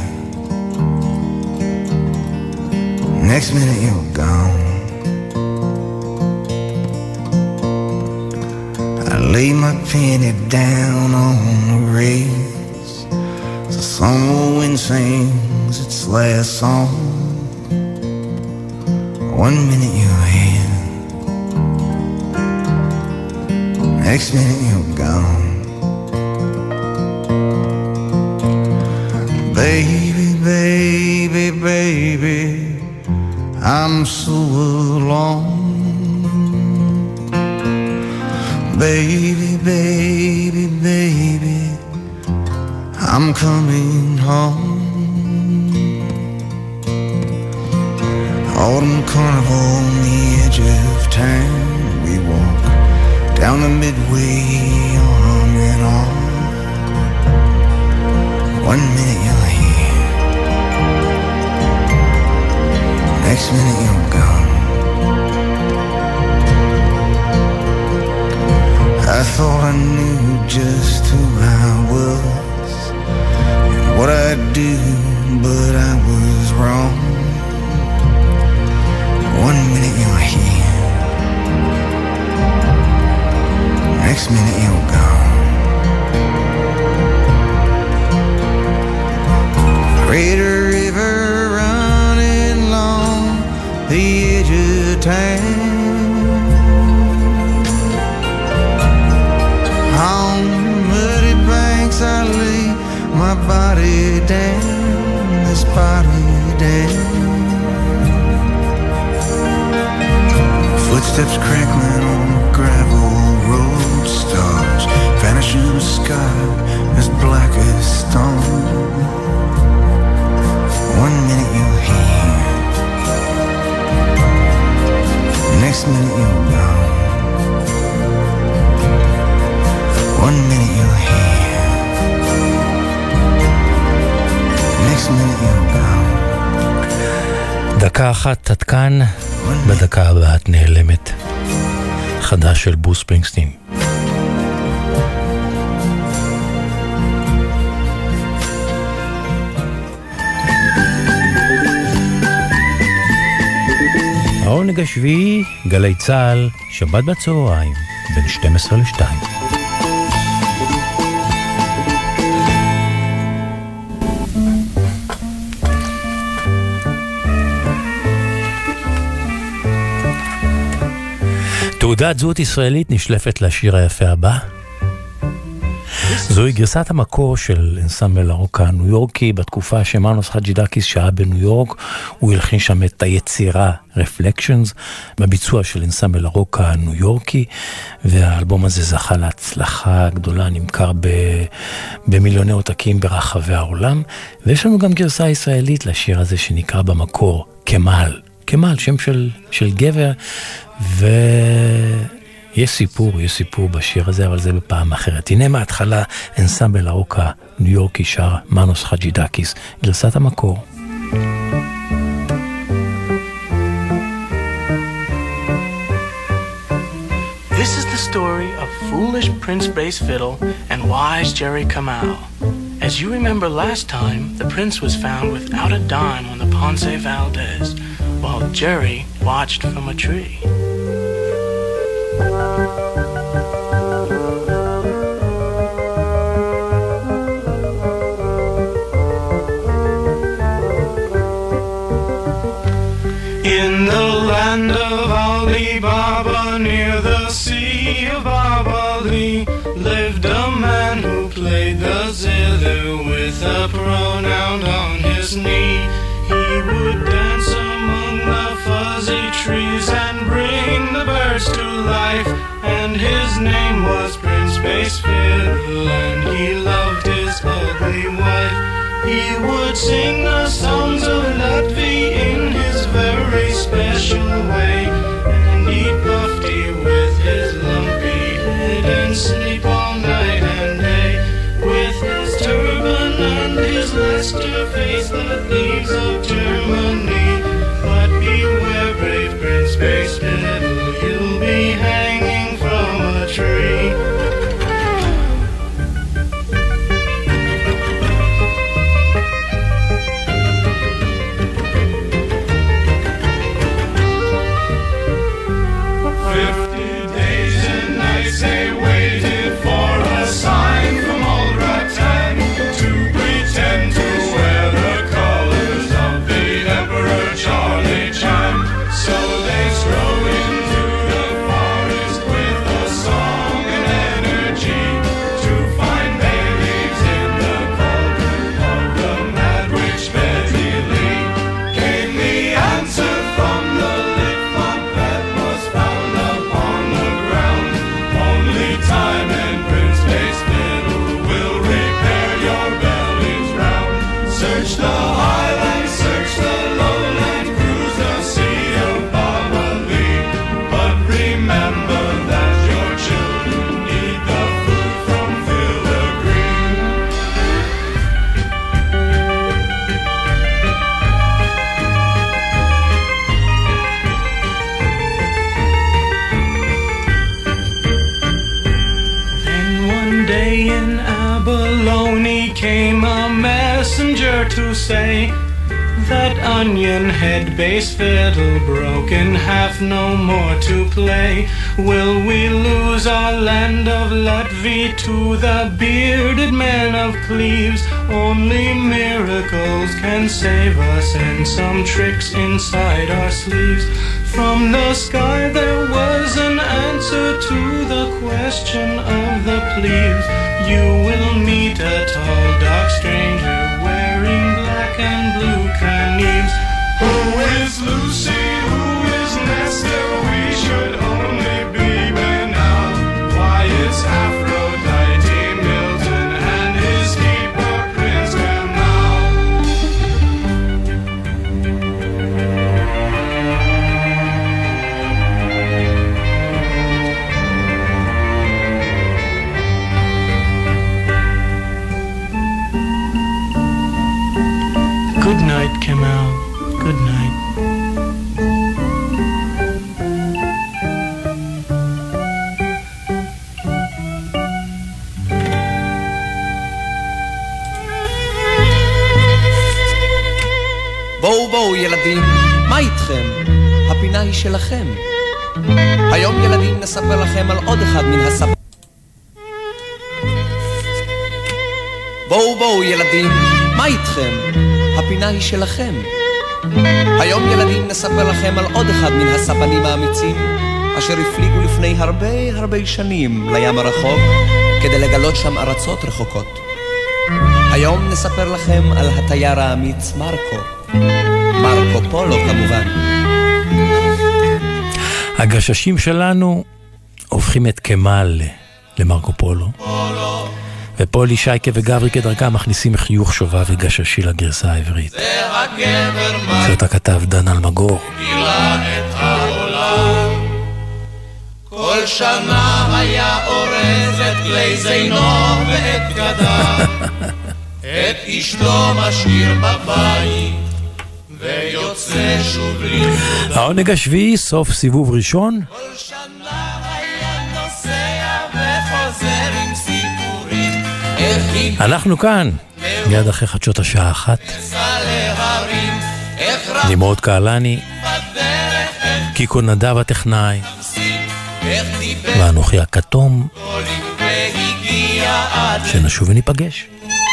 next minute you're gone. I lay my penny down on the rails, the summer wind sings its last song. One minute you're here, next minute you're gone. Baby, baby, baby, I'm so alone. Baby, baby, baby, I'm coming home. Autumn carnival on the edge of town, we walk down the midway, arm in arm. One minute you're just who I was and what I'd do, but I was wrong. One minute you're here, next minute you're gone. Great river running along the edge of town, on muddy banks I lay my body down, this body down. Footsteps crackling on the gravel road, stars vanish in the sky as black as stone. One minute you're here, next minute you're gone. One minute you're here, next minute you're gone. דקה אחת עד כאן, בדקה הבאה את נעלמת. חדש של ברוס ספרינגסטין. העונג השביעי, גלי צהל, שבת בצהריים, בין שתים עשרה לשתיים. תעודת זהות ישראלית נשלפת לשיר היפה הבא. זוהי גרסת המקור של אנסמבל הרוק הניו יורקי בתקופה שמאנוס חג'ידקיס שהיה בניו יורק. הוא הלחין שם את היצירה Reflections בביצוע של אנסמבל הרוק הניו יורקי, והאלבום הזה זכה להצלחה גדולה, נמכר ב... במיליוני עותקים ברחבי העולם. ויש לנו גם גרסה ישראלית לשיר הזה שנקרא במקור כמל. כמל, שם של, של גבר, ויש סיפור, יש סיפור בשיר הזה, אבל זה בפעם אחרת. הנה מההתחלה, אנסמבל הרוק הניו יורקי שר מאנוס חג'ידקיס, גרסת המקור. This is the story of foolish Prince Bass Fiddle and wise Jerry Kamau. As you remember last time, the prince was found without a dime on the Ponce Valdez, while Jerry watched from a tree. In the land of Alibaba, near the sea of Babali, lived a man who played the zither with a pronoun on his knee. He would dance among the fuzzy trees and bring the birds to life, and his name was Prince Bass Fiddle, and he loved his ugly wife. He would sing the songs of Latvi in his very special way, and eat bufty with his lumpy head and sleep all night and day, with his turban and his Leicester face, the thieves of Germany. But beware, brave Prince Bass Fiddle, you'll be hanging from a tree. Fifty days and nights they waited for a sign from old Ratan to pretend to wear the colors of the Emperor Charlie Chan. So they strode into the forest with a song and energy to find bay leaves in the cauldron of the mad witch Betty Lee. Came the answer from the lip that was found upon came a messenger to say that onion head bass fiddle broke in half, no more to play. Will we lose our land of Latvia to the bearded men of Cleves? Only miracles can save us and some tricks inside our sleeves. From the sky there was an answer to the question of the plebes. You will meet a tall dark stranger wearing black and blue caneves. Who is Lucy? Who is Nestor? We should only be men now. Why is Aphrodite Milton and his keeper Prince Kemal? Good night, Kemal. Good night. בואו בואו ילדים, מה איתכם? הפינה היא שלכם. היום ילדים נספר לכם על עוד אחד מן הספ... בואו בואו ילדים, מה איתכם? הפינה היא שלכם. היום ילדים נספר לכם על עוד אחד מן הספנים האמיצים אשר הפליגו לפני הרבה הרבה שנים לים הרחוק כדי לגלות שם ארצות רחוקות. היום נספר לכם על התייר האמיץ מרקו. מרקו פולו כמובן. הגששים שלנו הופכים את קמל למרקו פולו. ופולי, שייקה וגברי כדרכם מכניסים חיוך שובה וגששי לגרסה העברית. זה הגבר מרקו שאותה כתב דן אלמגור. גילה את העולם. כל שנה היה אורז את כלי זינו ואת גדה. את אשתו משאיר בבית ויוצא שוב לנקודה. העונג השביעי, סוף סיבוב ראשון. כל שנה היה נוסע וחוזר עם סיפורים. אנחנו כאן, מיד אחרי חדשות השעה אחת. נמרוד קהלני, קיקו נדב הטכנאי, ואנוכי הכתום, שנשוב וניפגש.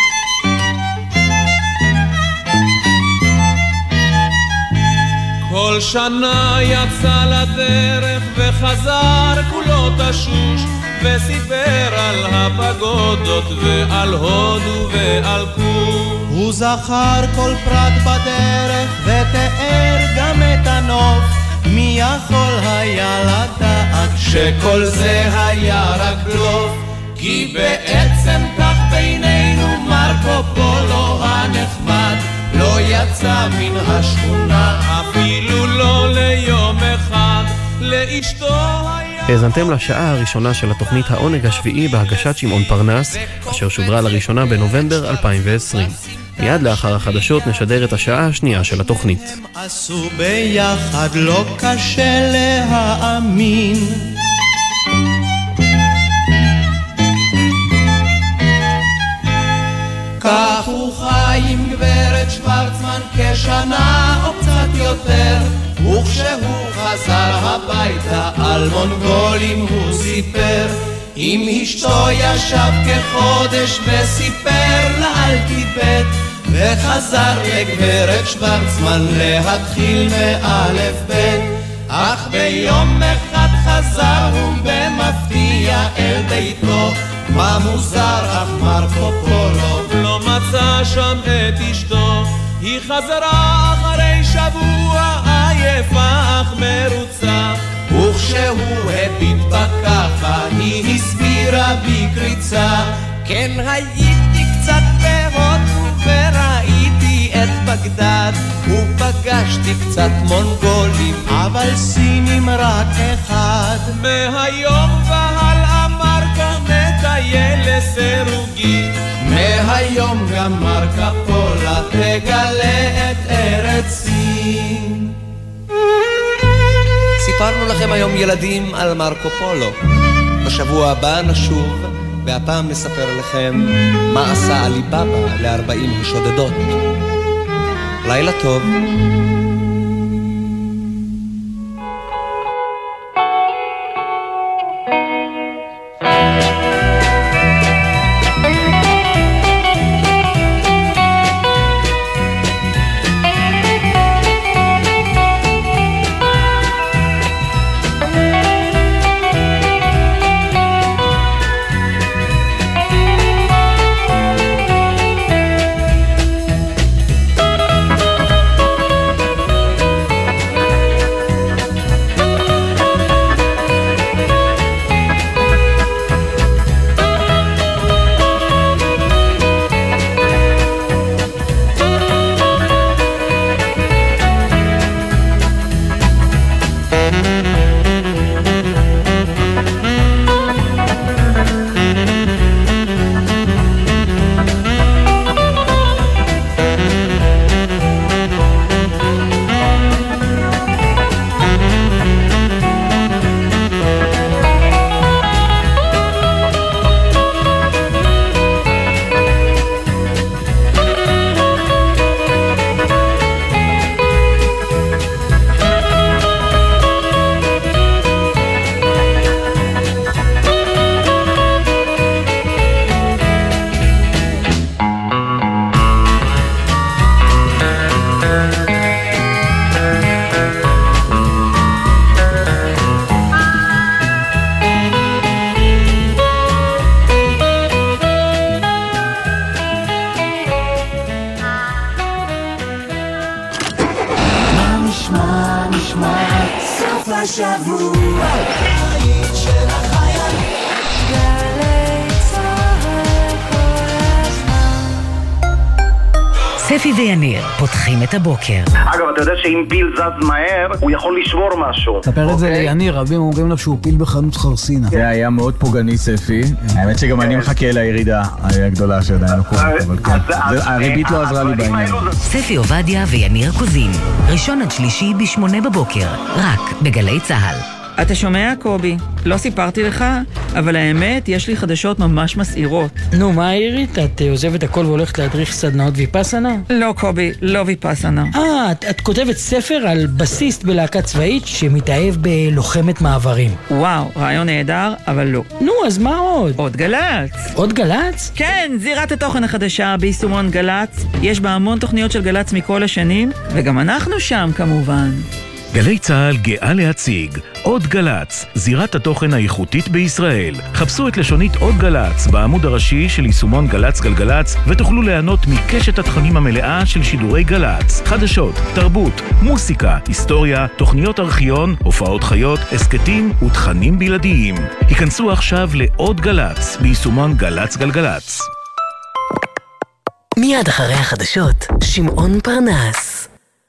כל שנה יצא לדרך וחזר כולו תשוש וסיפר על הפגודות ועל הודו ועל קור. הוא זכר כל פרט בדרך ותיאר גם את הנוף. מי יכול היה לדעת שכל זה היה רק בלוף, כי בעצם כך בינינו מרקו פולו הנחמד לא יצא מן השכונה אפילו לא ליום אחד. לאשתו היה... האזנתם לשעה הראשונה של התוכנית העונג השביעי בהגשת שמעון פרנס, אשר שודרה לראשונה בנובמבר אלפיים ועשרים. מיד לאחר החדשות נשדר את השעה השנייה של התוכנית. הם עשו ביחד לא קשה להאמין. כך הוא חי עם גברת שוורצמן כשנה או קצת יותר, וכשהוא חזר הביתה על מונגולים הוא סיפר. עם אשתו ישב כחודש וסיפר לה על טיבט, וחזר לגברת שוורצמן להתחיל מאלף בית. אך ביום אחד חזר הוא במפתיע אל ביתו, מה מוזר אך מרקו פולו לא מצא שם את אשתו. היא חזרה אחרי שבוע עייפה אך מרוצה, וכשהוא הביט בה ככה היא הסבירה בקריצה. כן הייתי קצת בהודו וראיתי את בגדד, ופגשתי קצת מונגולים אבל סינים רק אחד. מהיום והלאה מרקו מטייל לסירוגי, מהיום גם מרקה פולה תגלה את ארץ סין. סיפרנו לכם היום ילדים על מרקו פולו. בשבוע הבא נשוב והפעם נספר לכם מה עשה עלי בבא לארבעים השודדות. לילה טוב. ספי ויניר פותחים את הבוקר. אגב, אתה יודע שאם פיל זז מהר, הוא יכול לשבור משהו. ספר את זה ליניר, רבים אומרים לו שהוא פיל בחנות חרסינה. זה היה מאוד פוגעני ספי. האמת שגם אני מחכה לירידה הגדולה שעדיין לא קורה. הריבית לא עזרה לי בעניין. ספי עובדיה ויניר קוזין, ראשון עד שלישי בשמונה בבוקר, רק בגלי צהל. אתה שומע, קובי? לא סיפרתי לך, אבל האמת, יש לי חדשות ממש מסעירות. נו, מה העירית? את עוזבת הכל והולכת להדריך סדנאות ויפסנה? לא, קובי, לא ויפסנה. אה, את, את כותבת ספר על בסיסט בלהקה צבאית שמתאהב בלוחמת מעברים. וואו, רעיון נהדר, אבל לא. נו, אז מה עוד? עוד גלץ. עוד גלץ? כן, זירת התוכן החדשה ביישומון גלץ. יש בה המון תוכניות של גלץ מכל השנים, וגם אנחנו שם כמובן. גלי צהל גאה להציג עוד גלץ, זירת התוכן האיכותית בישראל. חפשו את לשונית עוד גלץ בעמוד הראשי של יישומון גלץ גלגלץ ותוכלו ליהנות מקשת התכנים המלאה של שידורי גלץ. חדשות, תרבות, מוסיקה, היסטוריה, תוכניות ארכיון, הופעות חיות, הסקטים ותכנים בלעדיים. היכנסו עכשיו לעוד גלץ ביישומון גלץ גלגלץ. מיד אחרי החדשות, שמעון פרנס.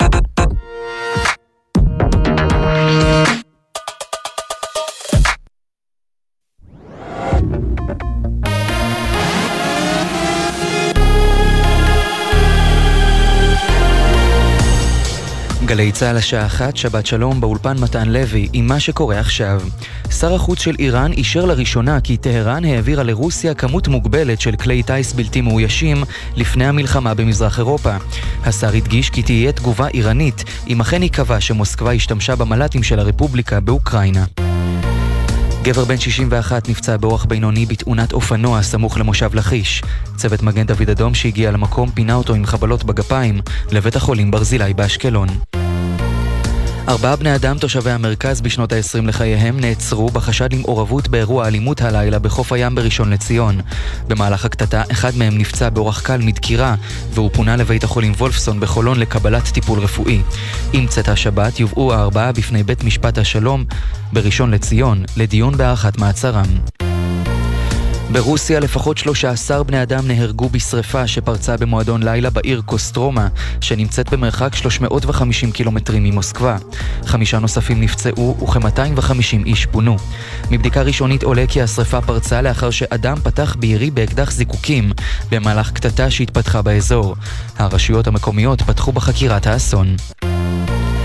גלי צהל השעה אחת, שבת שלום, באולפן מתן לוי, עם מה שקורה עכשיו. שר החוץ של איראן אישר לראשונה כי טהרן העבירה לרוסיה כמות מוגבלת של כלי טייס בלתי מאוישים לפני המלחמה במזרח אירופה. השר הדגיש כי תהיה תגובה איראנית, אם אכן יקבע שמוסקבה השתמשה במל"טים של הרפובליקה באוקראינה. גבר בן שישים ואחת נפצע באורח בינוני בתאונת אופנוע סמוך למושב לכיש. צוות מגן דוד אדום שהגיע למקום פינה אותו עם חבלות בגפיים לבית החולים ברזילי באשקלון. ארבעה בני אדם תושבי המרכז בשנות ה-עשרים לחייהם נעצרו בחשד למעורבות באירוע אלימות הלילה בחוף הים בראשון לציון. במהלך הקטטה אחד מהם נפצע באורח קל מדקירה והוא פונה לבית החולים וולפסון בחולון לקבלת טיפול רפואי. עם צאת השבת יובאו הארבעה בפני בית משפט השלום בראשון לציון לדיון בהארכת מעצרם. ברוסיה לפחות שלושה עשר בני אדם נהרגו בשריפה שפרצה במועדון לילה בעיר קוסטרומה, שנמצאת במרחק שלוש מאות וחמישים קילומטרים ממוסקבה. חמישה נוספים נפצעו וכ-מאתיים וחמישים איש פונו. מבדיקה ראשונית עולה כי השריפה פרצה לאחר שאדם פתח בירי באקדח זיקוקים במהלך קטטה שהתפתחה באזור. הרשויות המקומיות פתחו בחקירת האסון.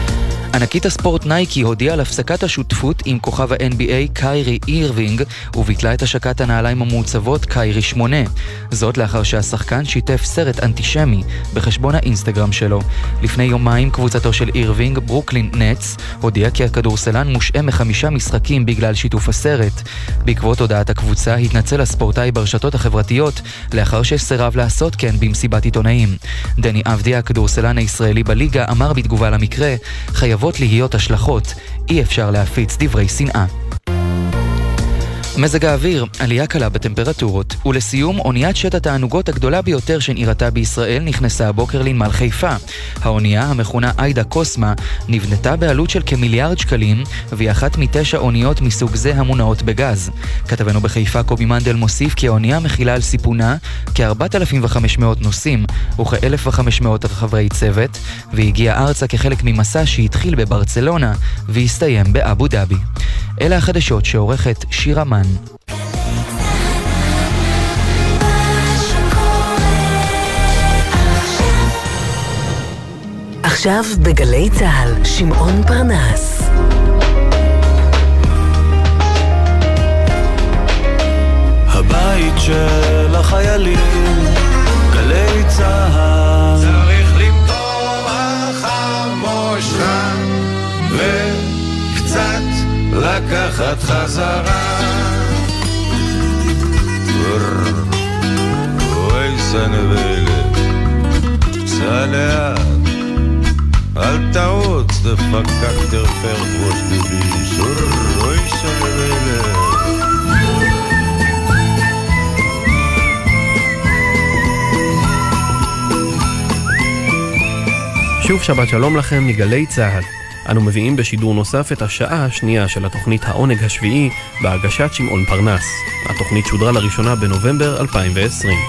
ענקית הספורט נייקי הודיעה על הפסקת השותפות עם כוכב ה-אן בי איי קיירי אירווינג וביטלה את השקת הנעליים המעוצבות קיירי שמונה. זאת לאחר שהשחקן שיתף סרט אנטישמי בחשבון האינסטגרם שלו. לפני יומיים קבוצתו של אירווינג, ברוקלין נטס, הודיעה כי הכדורסלן מושעה מחמישה משחקים בגלל שיתוף הסרט. בעקבות הודעת הקבוצה התנצל הספורטאי ברשתות החברתיות לאחר שסירב לעשות כן במסיבת עיתונאים. דני אבדיה, הכדורסלן הישראלי בליגה, אמר בתגובה למקרה, חייבות להיות השלכות, אי אפשר להפיץ דברי שנאה. מזג האוויר, עלייה קלה בטמפרטורות, ולסיום, אוניית שט התענוגות הגדולה ביותר שנראתה בישראל נכנסה הבוקר לנמל חיפה. האונייה, המכונה איידה קוסמה, נבנתה בעלות של כמיליארד שקלים, והיא אחת מתשע אוניות מסוג זה המונעות בגז. כתבנו בחיפה קובי מנדל מוסיף כי האונייה מכילה על סיפונה כ-ארבעת אלפים וחמש מאות נוסעים וכ-אלף וחמש מאות חברי צוות, והגיעה ארצה כחלק ממסע שהתחיל בברצלונה והסתיים באבו דאבי. אלה החדשות שעורכת שירה מן. עכשיו בגלי צהל, שמעון פרנס. הבית של החיילים, גלי צהל. צריך למטור החמושה וקצת לקחת חזרה. אוי סנבלה, סע לאט, אל תעוץ, דפקק דרפר ראש דביש. אוי סנבלה. שוב שבת שלום לכם מגלי צהל. אנו מביאים בשידור נוסף את השעה השנייה של התוכנית העונג השביעי בהגשת שמעון פרנס. התוכנית שודרה לראשונה בנובמבר אלפיים ועשרים.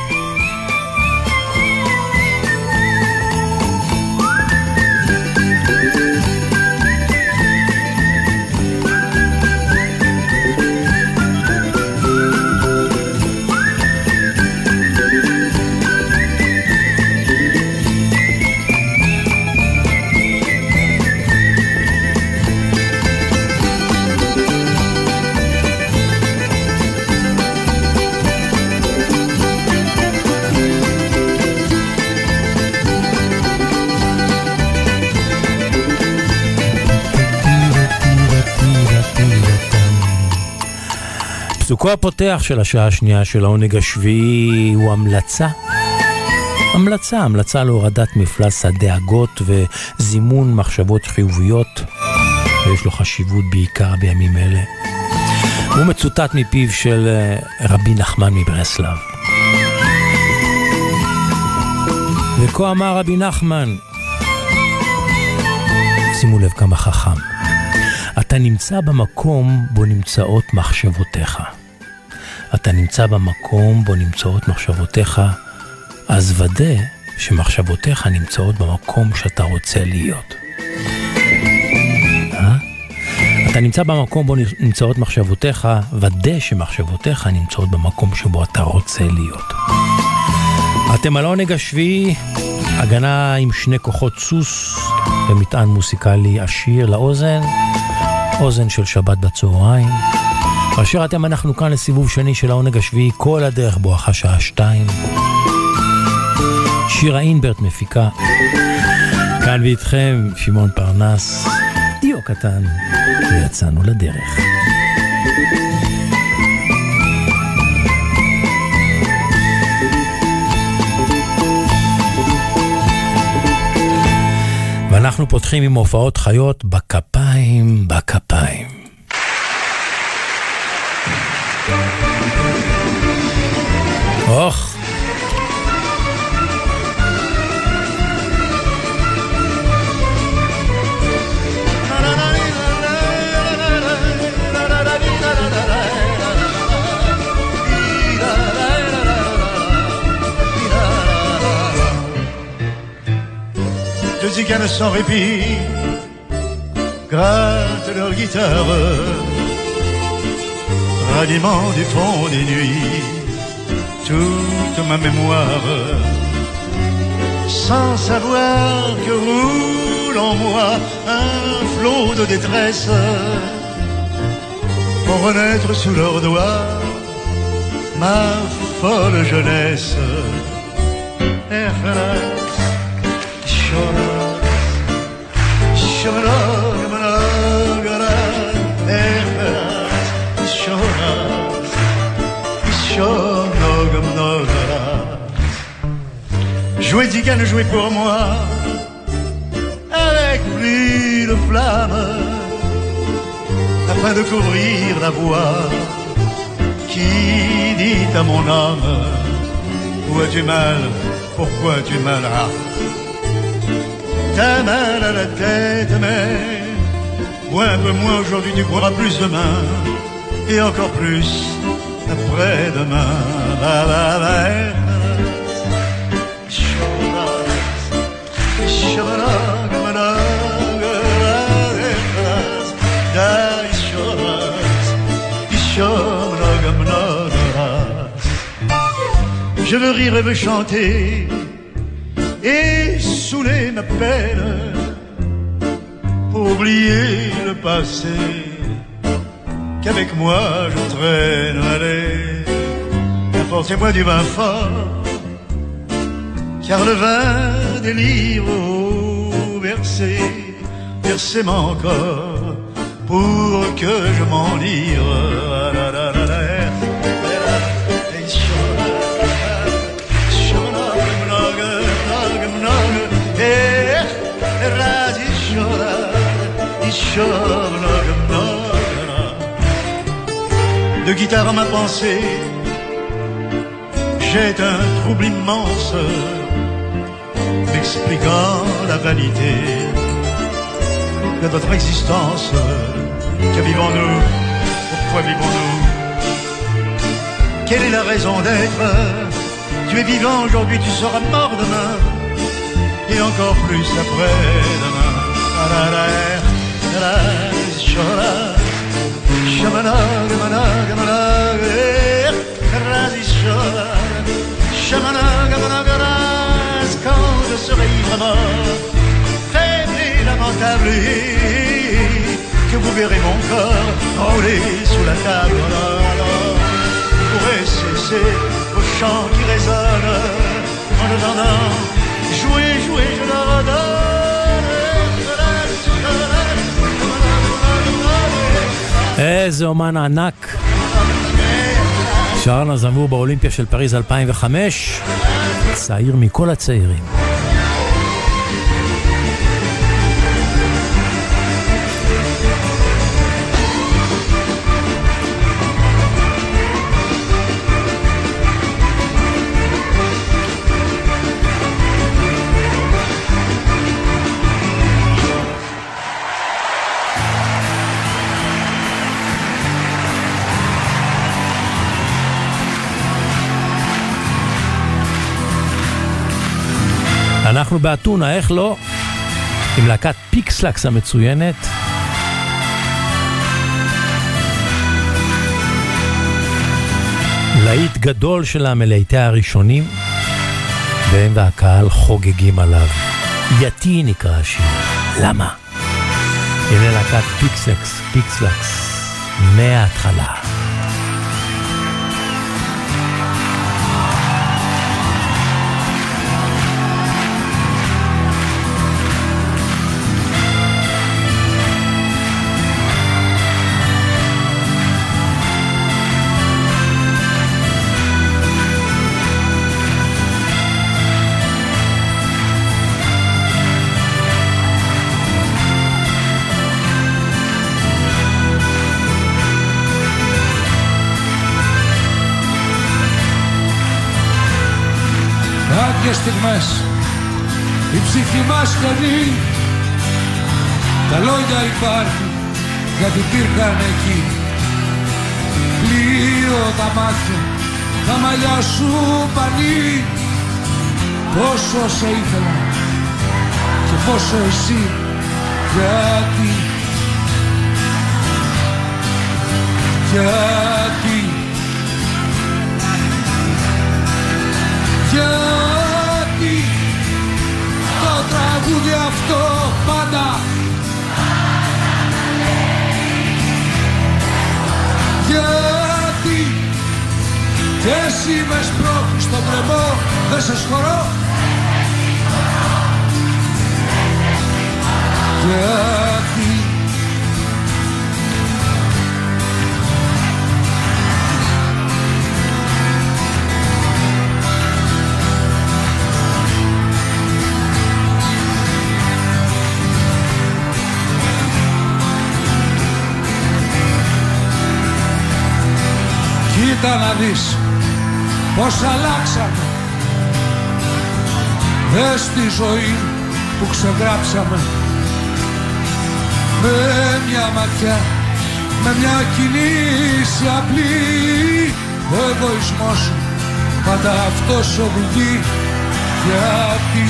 פסוקו הפותח של השעה השנייה של העונג השביעי הוא המלצה. המלצה, המלצה להורדת מפלס הדאגות וזימון מחשבות חיוביות, ויש לו חשיבות בעיקר בימים אלה. הוא מצוטט מפיו של רבי נחמן מברסלב. וכה אמר רבי נחמן, שימו לב כמה חכם, אתה נמצא במקום בו נמצאות מחשבותיך. אתה נמצא במקום בו נמצאות מחשבותיך, אז ודא שמחשבותיך נמצאות במקום שאתה רוצה להיות. אה? אתה נמצא במקום בו נמצאות מחשבותיך, ודא שמחשבותיך נמצאות במקום שבו אתה רוצה להיות. אתם על העונג השביעי, הגנה עם שני כוחות סוס ומטען מוסיקלי עשיר לאוזן, אוזן של שבת בצהריים. כאשר אתם אנחנו כאן לסיבוב שני של העונג השביעי, כל הדרך בואכה שעה שתיים. שירה אינברט מפיקה. כאן ואיתכם שמעון פרנס, דיו קטן, ויצאנו לדרך. ואנחנו פותחים עם הופעות חיות בכפיים, בכפיים. אוח. Deux ziganes sans répit grattent leur guitare, ranimant du fond des nuits toute ma mémoire, sans savoir que roule coule en moi un flot de détresse pour renaître sous leurs doigts ma folle jeunesse. Jouez Zigane, jouez pour moi avec plus de flamme afin de couvrir la voix qui dit à mon âme: où as-tu mal? Pourquoi as-tu mal? Ah. T'as mal à la tête, mais moi un peu moins aujourd'hui, tu pourras plus demain, et encore plus après-demain. Ba, ba, ba. Je veux rire et veux chanter et saouler ma peine pour oublier le passé qu'avec moi je traîne. Allez, apportez-moi du vin fort, car le vin délire au versé, versez-moi encore pour que je m'enivre. De guitare à ma pensée, j'ai un trouble immense, m'expliquant la vanité de votre existence. Que vivons-nous? Pourquoi vivons-nous? Quelle est la raison d'être? Tu es vivant aujourd'hui, tu seras mort demain, et encore plus après-demain. Quand je serai ivre mort, faible et lamentable, et que vous verrez mon corps rouler sous la table, alors vous pourrez cesser vos chants qui résonnent en attendant. Jouez, jouez, je leur redonne. איזה אומן ענק. שר נזמור באולימפיה של פריז אלפיים וחמש, צעיר מכל הצעירים. אנחנו באתונה, איך לא? עם להקת פיקסלקס המצוינת. להיט גדול שלה מלהיטי הראשונים, והם והקהל חוגגים עליו. יתי נקרא השיר. למה? הנה להקת פיקסלקס, פיקסלקס, מההתחלה. Και στιγμές η ψυχή μας κλαίνει, τα λόγια υπάρχουν γιατί υπήρχαν εκεί. Πλοίο τα μάτια, τα μαλλιά σου πανί, πόσο σε ήθελα και πόσο εσύ. Γιατί, γιατί, γιατί το τραγούδι αυτό πάντα και εσύ με σπρώχνεις στον κρεμό, δεν σε σχωρώ. Γιατί κοίτα να δεις πως αλλάξαμε. Δες τη ζωή που ξεγράψαμε. Με μια ματιά, με μια κινήση απλή. Ο εγωισμός σου πάντα αυτός οδηγεί. Γιατί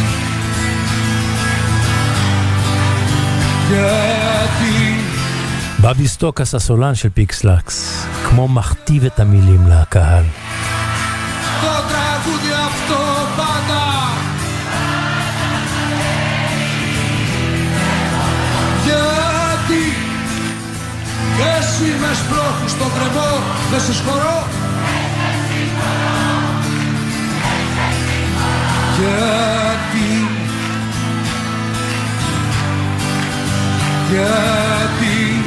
Γιατί בבי סטוקס הסולן של פיקסלקס, כמו מכתיב את המילים לקהל. το τραγούδι αυτό πάντα γιατί κι εσύ με σπρώχνεις στον κρεμό, δεν σε σχωρώ. Γιατί Γιατί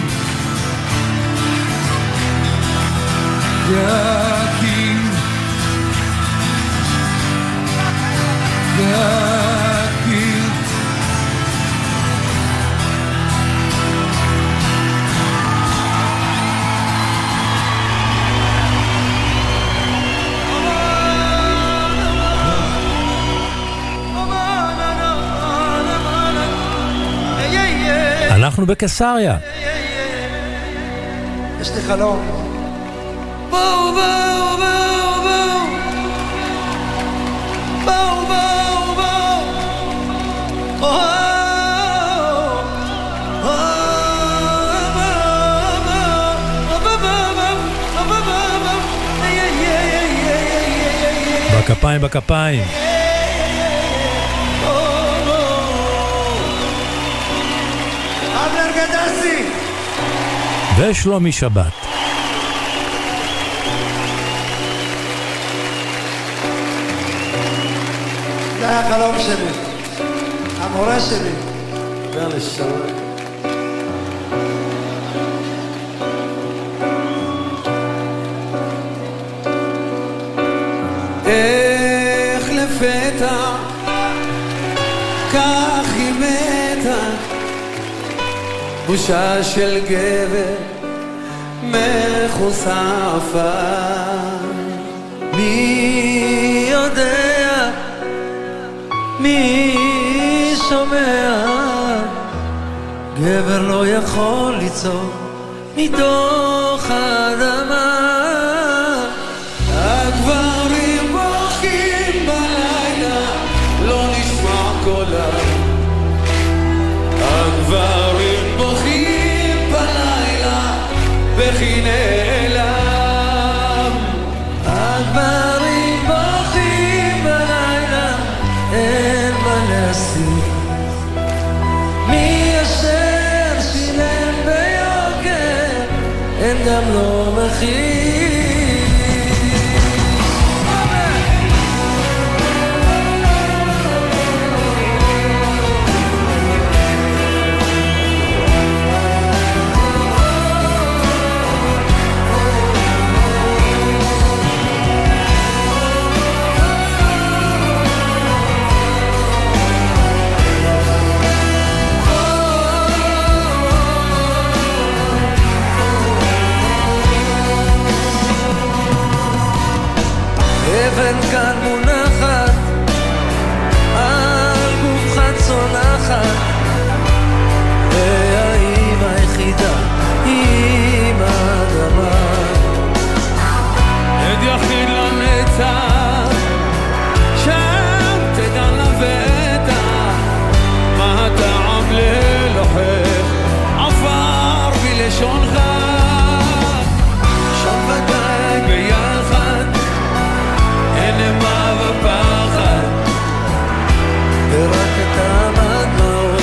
Γιατί Γιατί אנחנו בקיסריה. יש לי חלום. בואו בואו בואו בואו בואו בואו בואו בכפיים בכפיים. ושלומי שבת. זה היה החלום שלי, המורה שלי. דבר לשלום. איך לפתע כך היא מתה, בושה של גבר מחושף. מי יודע, מי שומע, גבר לא יכול ליצור מתוך האדמה. הגברים בוכים בלילה, לא נשמע קולם. הגברים בוכים בלילה, בכי נעלם. הגברים בוכים בלילה, אין מה להסתיר. מי אשר שילם ביוקר, אין גם לא מחיר. אבן כאן מונחת על גופך צונחת, והאימא היחידה היא האדמה. עד יחיד לנצח, שם תדע לבטח, מה הטעם ללוחך עפר בלשונך. שם ודאי ביחד אין מה ופחד, ורק את המדמעות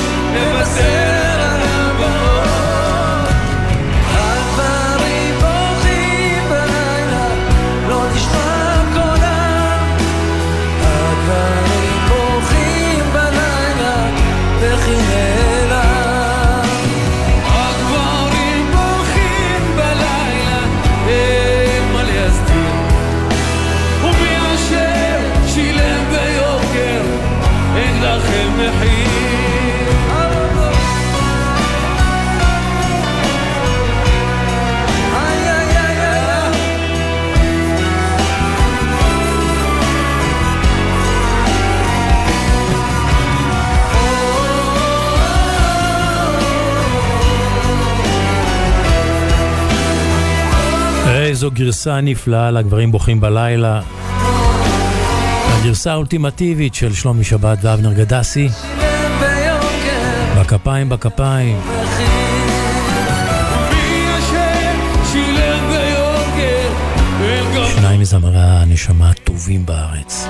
איזו גרסה נפלאה לגברים בוכים בלילה. הגרסה האולטימטיבית של שלומי שבת ואבנר גדסי. בכפיים בכפיים. שניים מזמרי הנשמה הטובים בארץ.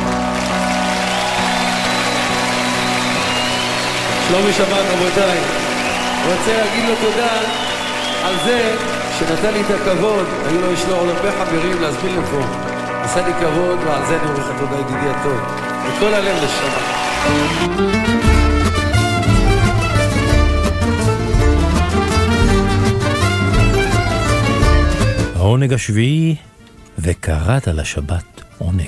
שלומי שבת, רבותיי, רוצה להגיד לו תודה על זה שנתן לי את הכבוד. היו לו, יש לו הרבה חברים להזמין לפה, עשה לי כבוד, ועל זה אני אומר לך תודה, ידידי הטוב, מכל הלב לשמה. העונג השביעי, וקראת לשבת עונג.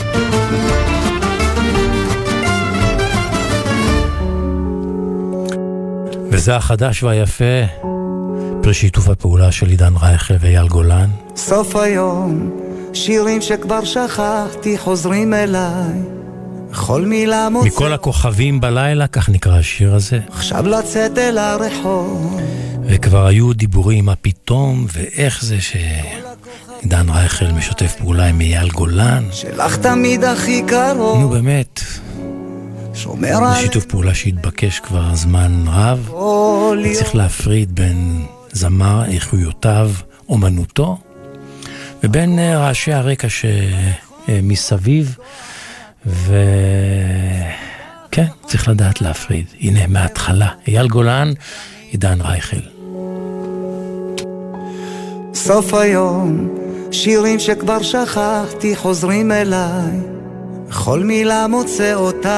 וזה החדש והיפה, פרי שיתוף הפעולה של עידן רייכל ואייל גולן. סוף היום, שירים שכבר שכחתי חוזרים אליי, כל מילה מוצא. מכל הכוכבים בלילה, כך נקרא השיר הזה. עכשיו לצאת אל הרחוב. וכבר היו דיבורים מה פתאום, ואיך זה שעידן רייכל משתף פעולה עם אייל גולן. שלך תמיד הכי קרוב. נו באמת. שומר זה שיתוף פעולה שהתבקש כבר זמן רב. צריך להפריד בין זמר, איכויותיו, אומנותו, ובין רעשי הרקע שמסביב, וכן, צריך לדעת להפריד. הנה, מההתחלה, אייל גולן, עידן רייכל. סוף היום, שירים שכבר שכחתי חוזרים אליי, כל מילה מוצא אותך,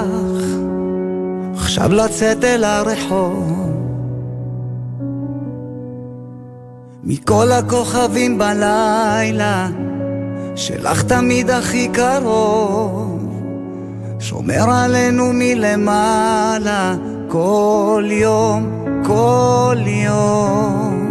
עכשיו לצאת אל הרחוב. מכל הכוכבים בלילה, שלך תמיד הכי קרוב, שומר עלינו מלמעלה, כל יום, כל יום.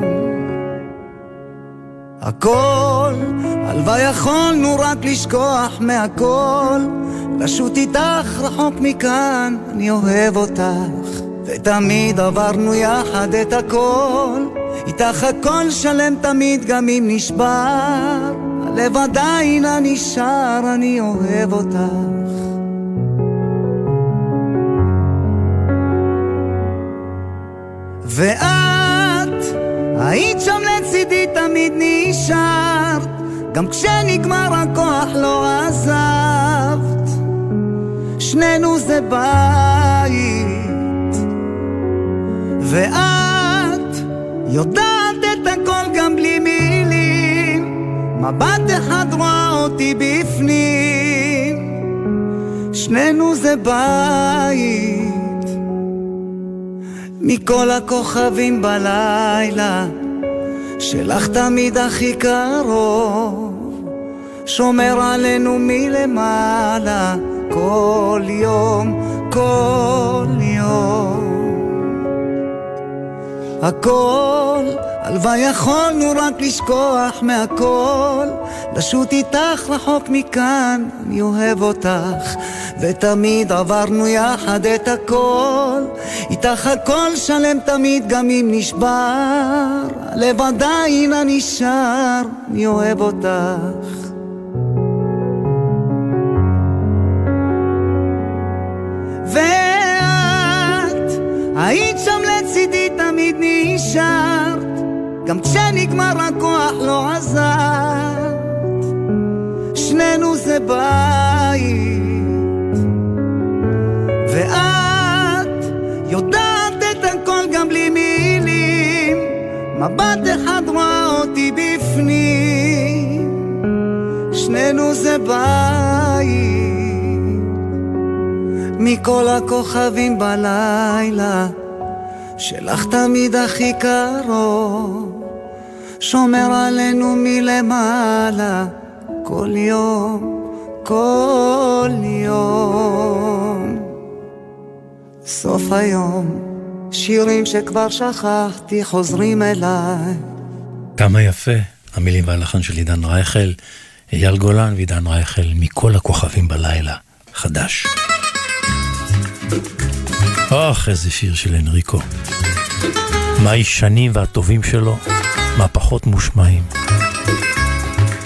הכל, הלוואי יכולנו רק לשכוח מהכל, לשוט איתך רחוק מכאן, אני אוהב אותך, ותמיד עברנו יחד את הכל, איתך הכל שלם תמיד גם אם נשבר, הלב עדיין נשאר, אני אוהב אותך. ואת היית שם לצידי תמיד נשארת, גם כשנגמר הכוח לא עזבת, שנינו זה בית, ואת יודעת את הכל גם בלי מילים, מבט אחד רואה אותי בפנים, שנינו זה בית. מכל הכוכבים בלילה, שלך תמיד הכי קרוב, שומר עלינו מלמעלה, כל יום, כל יום. הכל, הלוואי יכולנו רק לשכוח מהכל, לשוט איתך רחוק מכאן, אני אוהב אותך, ותמיד עברנו יחד את הכל, איתך הכל שלם תמיד גם אם נשבר, הלב עדיין נשאר, אני אוהב אותך. ואת היית שם לצידי תמיד נשארת, גם כשנגמר הכוח לא עזרת, שנינו זה בית, ואת יודעת את הכל גם בלי מילים, מבט אחד רואה אותי בפנים, שנינו זה בית. מכל הכוכבים בלילה, שלך תמיד הכי קרוב, שומר עלינו מלמעלה, כל יום, כל יום. סוף היום, שירים שכבר שכחתי חוזרים אליי. כמה יפה, המילים והלחן של עידן רייכל, אייל גולן ועידן רייכל, מכל הכוכבים בלילה, חדש. אוח, איזה שיר של אנריקו. מה הישנים והטובים שלו, מה פחות מושמעים.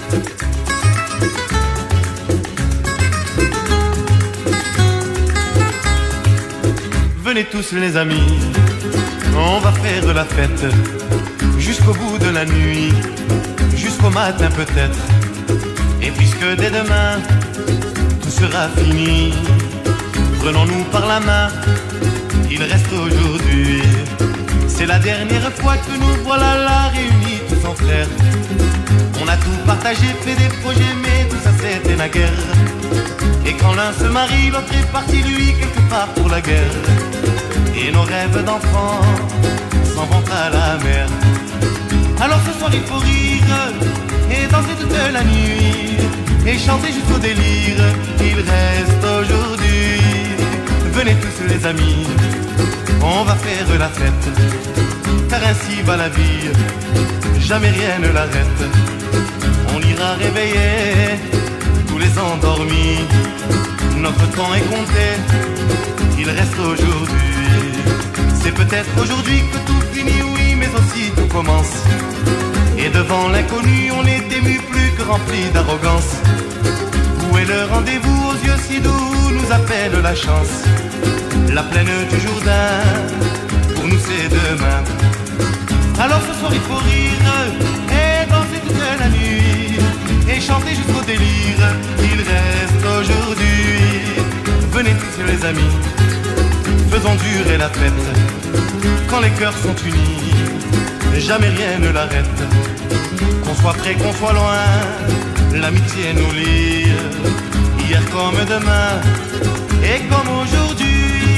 Venez tous les amis, on va faire de la fête jusqu'au bout de la nuit, jusqu'au matin peut-être. Et puisque dès demain tout sera fini, prenons-nous par la main, il reste aujourd'hui. C'est la dernière fois que nous voilà là réunis tous en frères. On a tout partagé, fait des projets, mais tout ça c'était la guerre. Et quand l'un se marie, l'autre est parti lui quelque part pour la guerre. Et nos rêves d'enfants s'en vont à la mer. Alors ce soir il faut rire et danser toute la nuit et chanter jusqu'au délire. Il reste aujourd'hui. Venez tous les amis, on va faire la fête, car ainsi va la vie, jamais rien ne l'arrête. On ira réveiller tous les endormis. Notre temps est compté, il reste aujourd'hui. C'est peut-être aujourd'hui que tout finit, oui, mais aussi tout commence. Et devant l'inconnu, on est ému plus que rempli d'arrogance. Où est le rendez-vous aux yeux si doux, nous appelle la chance. La plaine du Jourdain, pour nous c'est demain. Alors ce soir il faut rire et danser toute la nuit et chanter jusqu'au délire. Il reste aujourd'hui. Venez tous les amis, faisons durer la fête. Quand les cœurs sont unis, jamais rien ne l'arrête. Qu'on soit près, qu'on soit loin, l'amitié nous lie. Hier comme demain et comme aujourd'hui.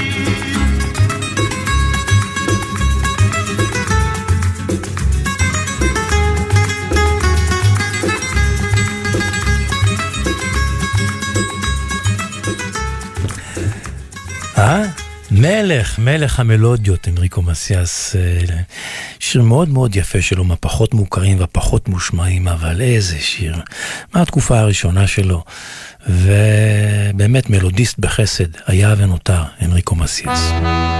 אה? מלך, מלך המלודיות, אנריקו מסיאס, שיר מאוד מאוד יפה שלו, מהפחות מוכרים והפחות מושמעים, אבל איזה שיר, מהתקופה הראשונה שלו, ובאמת מלודיסט בחסד, היה ונותר, אנריקו מסיאס.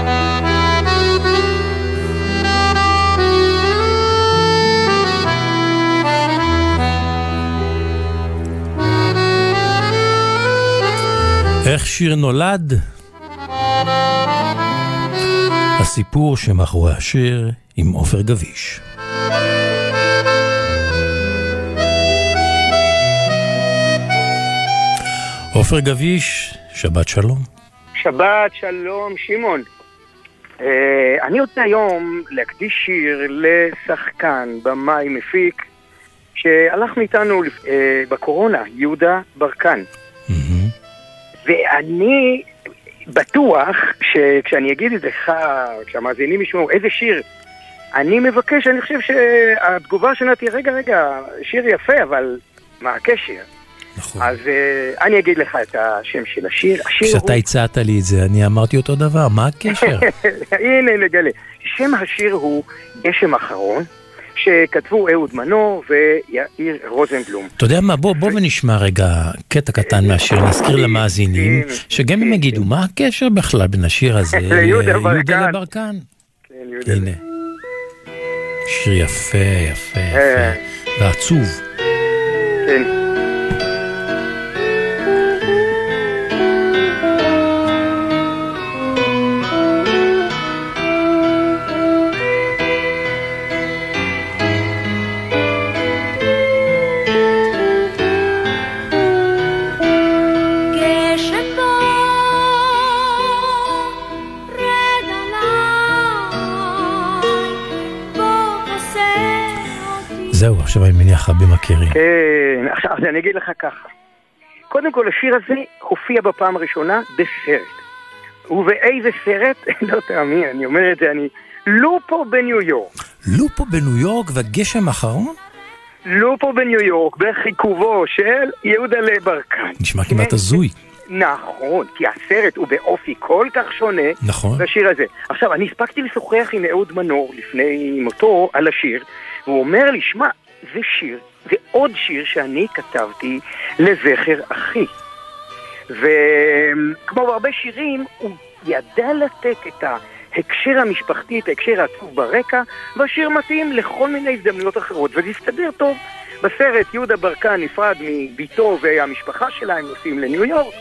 איך שיר נולד? הסיפור שמאחורי השיר עם עופר גביש. עופר גביש, שבת שלום. שבת שלום, שמעון. Uh, אני רוצה היום להקדיש שיר לשחקן, במאי, מפיק, שהלך מאיתנו uh, בקורונה, יהודה ברקן. Mm-hmm. ואני בטוח שכשאני אגיד את זה לך, כשהמאזינים ישמעו איזה שיר, אני מבקש, אני חושב שהתגובה שלה תהיה, רגע, רגע, שיר יפה, אבל מה הקשר? נכון. אז uh, אני אגיד לך את השם של השיר. השיר כשאתה הוא... הצעת לי את זה, אני אמרתי אותו דבר, מה הקשר? הנה, נגלה. שם השיר הוא גשם אחרון, שכתבו אהוד מנור ויאיר רוזנבלום. אתה יודע מה, בוא, בוא ונשמע רגע קטע קטן מהשיר, נזכיר למאזינים, שגם הם יגידו, מה הקשר בכלל בין השיר הזה ליהודה ברקן? לברקן? הנה, שיר יפה, יפה, יפה, ועצוב. כן. זהו, עכשיו אני מניח רבים מכירים. כן, עכשיו אני אגיד לך ככה. קודם כל, השיר הזה הופיע בפעם הראשונה בסרט. ובאיזה סרט? לא תאמין, אני אומר את זה, אני... לופו בניו יורק. לופו בניו יורק והגשם האחרון? לופו בניו יורק, בחיכובו של יהודה ברקן. נשמע כמעט הזוי. נכון, כי הסרט הוא באופי כל כך שונה. נכון. בשיר הזה. עכשיו, אני הספקתי לשוחח עם אהוד מנור לפני מותו על השיר, והוא אומר לי, שמע, זה שיר, זה עוד שיר שאני כתבתי לזכר אחי. וכמו בהרבה שירים, הוא ידע לתת את ההקשר המשפחתי, את ההקשר העצוב ברקע, והשיר מתאים לכל מיני הזדמנויות אחרות, וזה הסתדר טוב. בסרט יהודה ברקן נפרד מביתו והמשפחה שלה, הם נוסעים לניו יורק,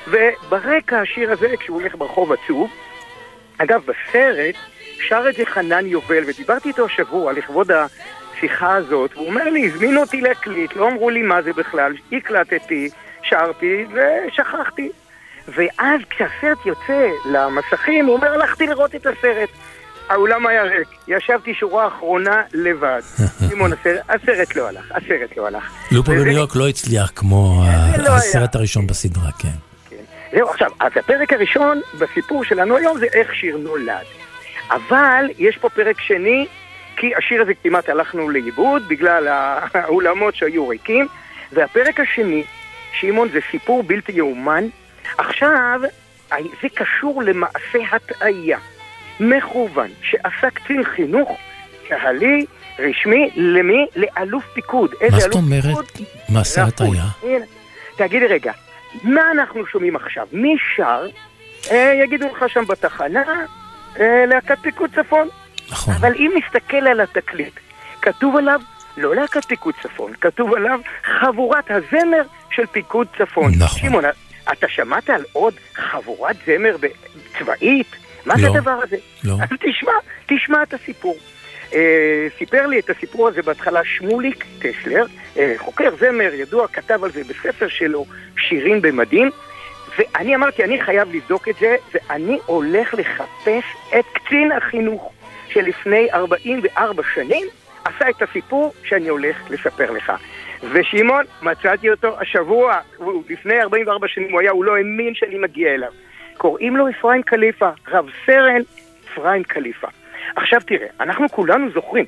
וברקע השיר הזה, כשהוא הולך ברחוב עצוב, אגב, בסרט שר את זה חנן יובל, ודיברתי איתו השבוע לכבוד השיחה הזאת, והוא אומר לי, הזמינו אותי להקליט, לא אמרו לי מה זה בכלל, הקלטתי, שרתי ושכחתי. ואז כשהסרט יוצא למסכים, הוא אומר, הלכתי לראות את הסרט. האולם היה ריק, ישבתי שורה אחרונה לבד. סימון, הסרט, הסרט לא הלך, הסרט לא הלך. לופו בניו יורק לא הצליח כמו הסרט הראשון בסדרה, כן. זהו, עכשיו, אז הפרק הראשון בסיפור שלנו היום זה איך שיר נולד. אבל יש פה פרק שני, כי השיר הזה כמעט הלכנו לאיבוד בגלל האולמות שהיו ריקים, והפרק השני, שמעון, זה סיפור בלתי יאומן. עכשיו, זה קשור למעשה הטעיה מכוון שעשה קצין חינוך צה"לי רשמי, למי? לאלוף פיקוד. מה זאת אומרת? מעשה הטעיה? תגידי רגע, מה אנחנו שומעים עכשיו? מי שר? אה, יגידו לך שם בתחנה, אה, להקת פיקוד צפון. נכון. אבל אם נסתכל על התקליט, כתוב עליו לא להקת פיקוד צפון, כתוב עליו חבורת הזמר של פיקוד צפון. נכון. שמעון, אתה שמעת על עוד חבורת זמר צבאית? מה לא. זה הדבר הזה? לא. אז תשמע, תשמע את הסיפור. אה, סיפר לי את הסיפור הזה בהתחלה שמוליק טסלר, אה, חוקר זמר ידוע, כתב על זה בספר שלו, שירים במדים, ואני אמרתי, אני חייב לבדוק את זה, ואני הולך לחפש את קצין החינוך שלפני ארבעים וארבע שנים עשה את הסיפור שאני הולך לספר לך. ושמעון, מצאתי אותו השבוע, הוא, לפני ארבעים וארבע שנים הוא היה, הוא לא האמין שאני מגיע אליו. קוראים לו אפרים קליפה, רב סרן אפרים קליפה. עכשיו תראה, אנחנו כולנו זוכרים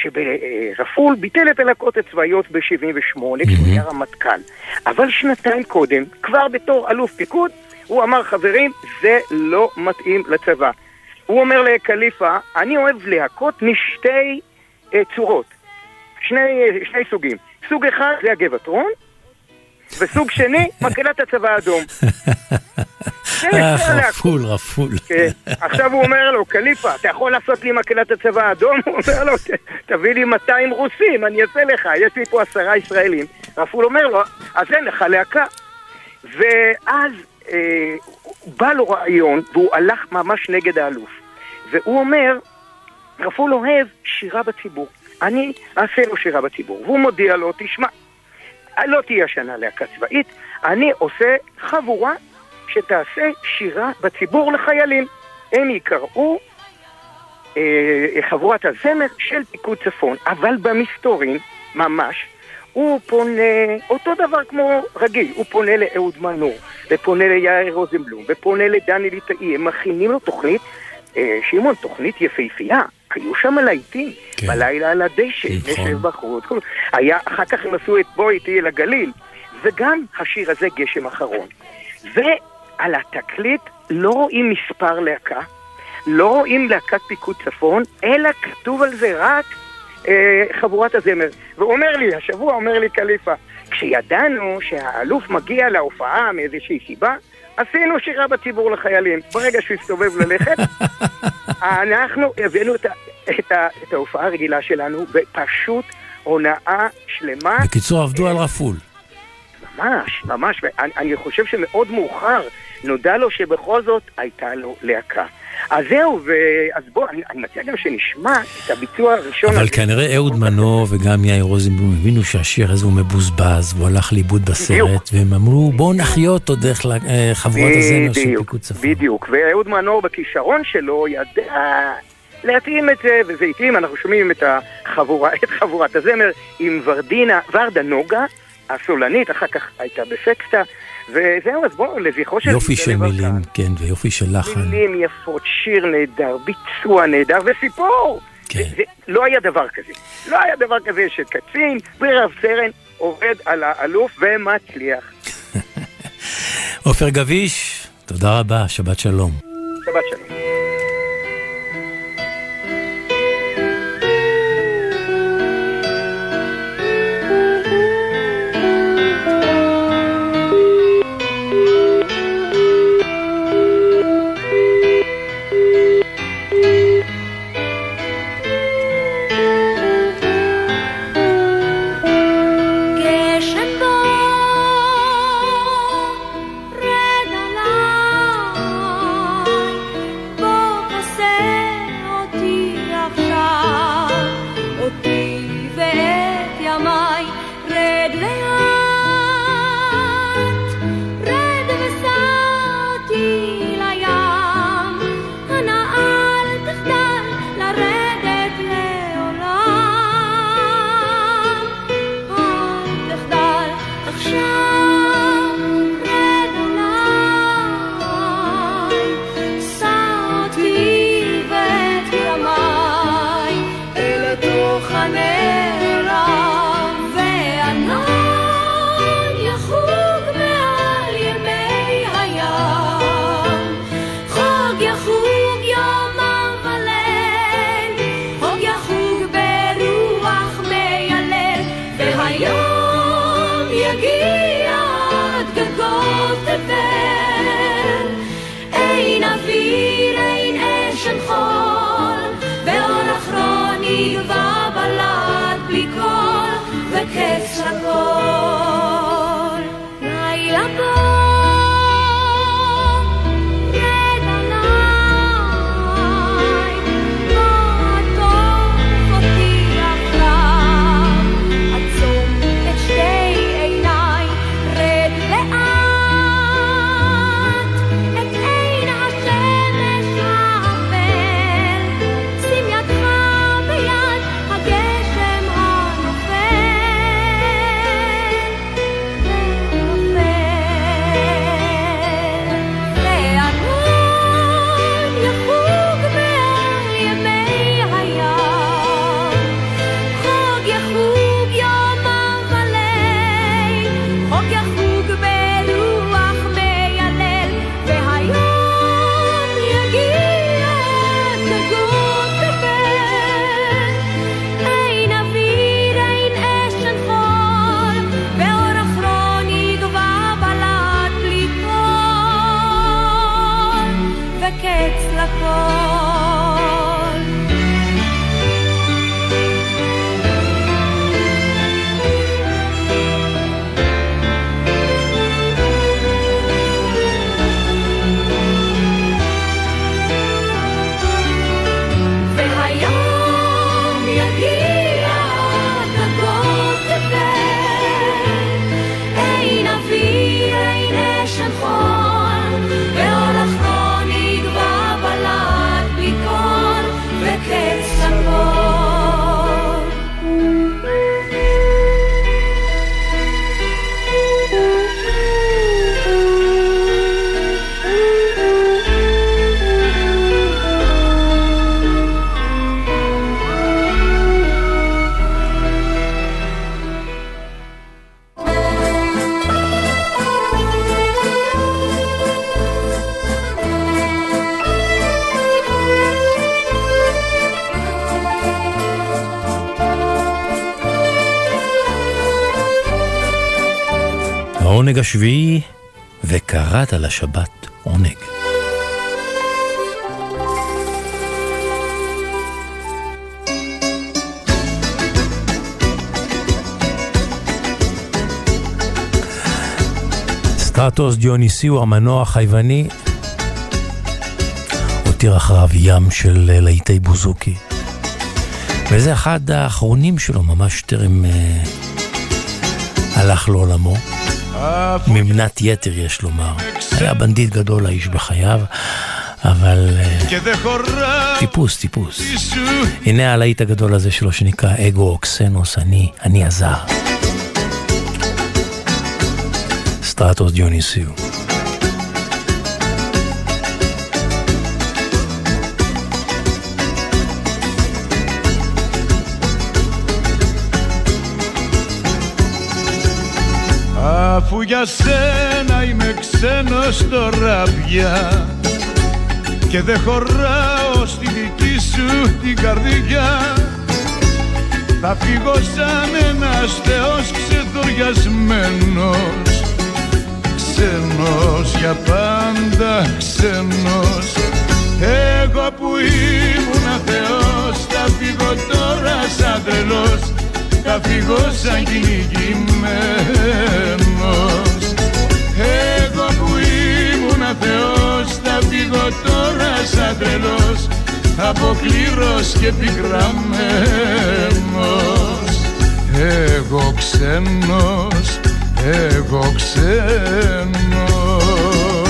שברפול ביטל את הלהקות הצבאיות ב-שבעים ושמונה, כשהוא היה רמטכ"ל. אבל שנתיים קודם, כבר בתור אלוף פיקוד, הוא אמר, חברים, זה לא מתאים לצבא. הוא אומר לקליפה, אני אוהב להקות משתי uh, צורות, שני, שני סוגים. סוג אחד זה הגבעתרון, וסוג שני, מקהלת הצבא האדום. רפול, רפול. עכשיו הוא אומר לו, קליפה, אתה יכול לעשות לי מקהלת הצבא האדום? הוא אומר לו, תביא לי מאתיים רוסים, אני אעשה לך, יש לי פה עשרה ישראלים. רפול אומר לו, אז אין לך להקה. ואז בא לו רעיון, והוא הלך ממש נגד האלוף. והוא אומר, רפול אוהב שירה בציבור. אני אעשה לו שירה בציבור. והוא מודיע לו, תשמע, לא תהיה השנה להקה צבאית, אני עושה חבורה שתעשה שירה בציבור לחיילים. הם יקראו אה, חבורת הזמר של פיקוד צפון, אבל במסתורין, ממש, הוא פונה, אותו דבר כמו רגיל, הוא פונה לאהוד מנור, ופונה ליאיר רוזנבלום, ופונה לדני ליטאי, הם מכינים לו תוכנית, אה, שמעון, תוכנית יפהפייה, היו שם לעיתים, כן. בלילה על הדשא, נשב בחוץ, היה, אחר כך הם עשו את בוא איתי אל הגליל, וגם השיר הזה גשם אחרון. ועל התקליט לא רואים מספר להקה, לא רואים להקת פיקוד צפון, אלא כתוב על זה רק אה, חבורת הזמר. והוא אומר לי, השבוע אומר לי קליפה, כשידענו שהאלוף מגיע להופעה מאיזושהי סיבה, עשינו שירה בציבור לחיילים. ברגע שהוא הסתובב ללכת, אנחנו הבאנו את, את, את ההופעה הרגילה שלנו, ופשוט הונאה שלמה. בקיצור, עבדו על רפול. ממש, ממש, ואני אני חושב שמאוד מאוחר נודע לו שבכל זאת הייתה לו להקה. אז זהו, אז בוא, אני, אני מציע גם שנשמע את הביצוע הראשון. אבל כנראה אהוד מנור וגם יאיר רוזנבלום הבינו שהשיר הזה הוא מבוזבז, והוא הלך לאיבוד בסרט, והם אמרו, בואו נחיות עוד דרך חבורת הזמר של פיקוד צפון. בדיוק, ואהוד מנור בכישרון שלו ידע להתאים את זה, וזה התאים, אנחנו שומעים את, החבורה, את חבורת הזמר עם ורדינה, ורדה נוגה, הסולנית, אחר כך הייתה בסקסטה, וזהו, אז בואו, לזכרו של... יופי של מילים, כן, ויופי של לחן. מילים יפות, שיר נהדר, ביצוע נהדר, וסיפור. כן. זה, לא היה דבר כזה. לא היה דבר כזה שקצין ורב סרן עובד על האלוף ומצליח. עופר גביש, תודה רבה, שבת שלום. שבת שלום. יגיע עד גגות תבל, אין אוויר, אין אש, אין חול, ואור אחרון יגבה בלד בלי קול, וקץ לכל. לילה בו העונג השביעי, וקראת לשבת עונג. סטרטוס דיוניסיו, המנוח היווני, הותיר אחריו ים של להיטי בוזוקי. וזה אחד האחרונים שלו, ממש טרם אה, הלך לעולמו. ממנת יתר יש לומר. היה בנדיט גדול האיש בחייו, אבל טיפוס, טיפוס. הנה הלהיט הגדול הזה שלו שנקרא אגו אוקסנוס, אני, אני הזר. סטרטוס דיוניסיו. Αφού για σένα είμαι ξένος τώρα πια και δεν χωράω στη δική σου την καρδιά, θα φύγω σαν ένας θεός ξεδοριασμένος, ξένος για πάντα ξένος. Εγώ που ήμουνα θεός θα φύγω τώρα σαν τρελός, θα φύγω σαν κυνηγημένος. Εγώ που ήμουνα θεός θα φύγω τώρα σαν τρελός, αποκλήρος και πικραμένος. Εγώ ξένος, εγώ ξένος.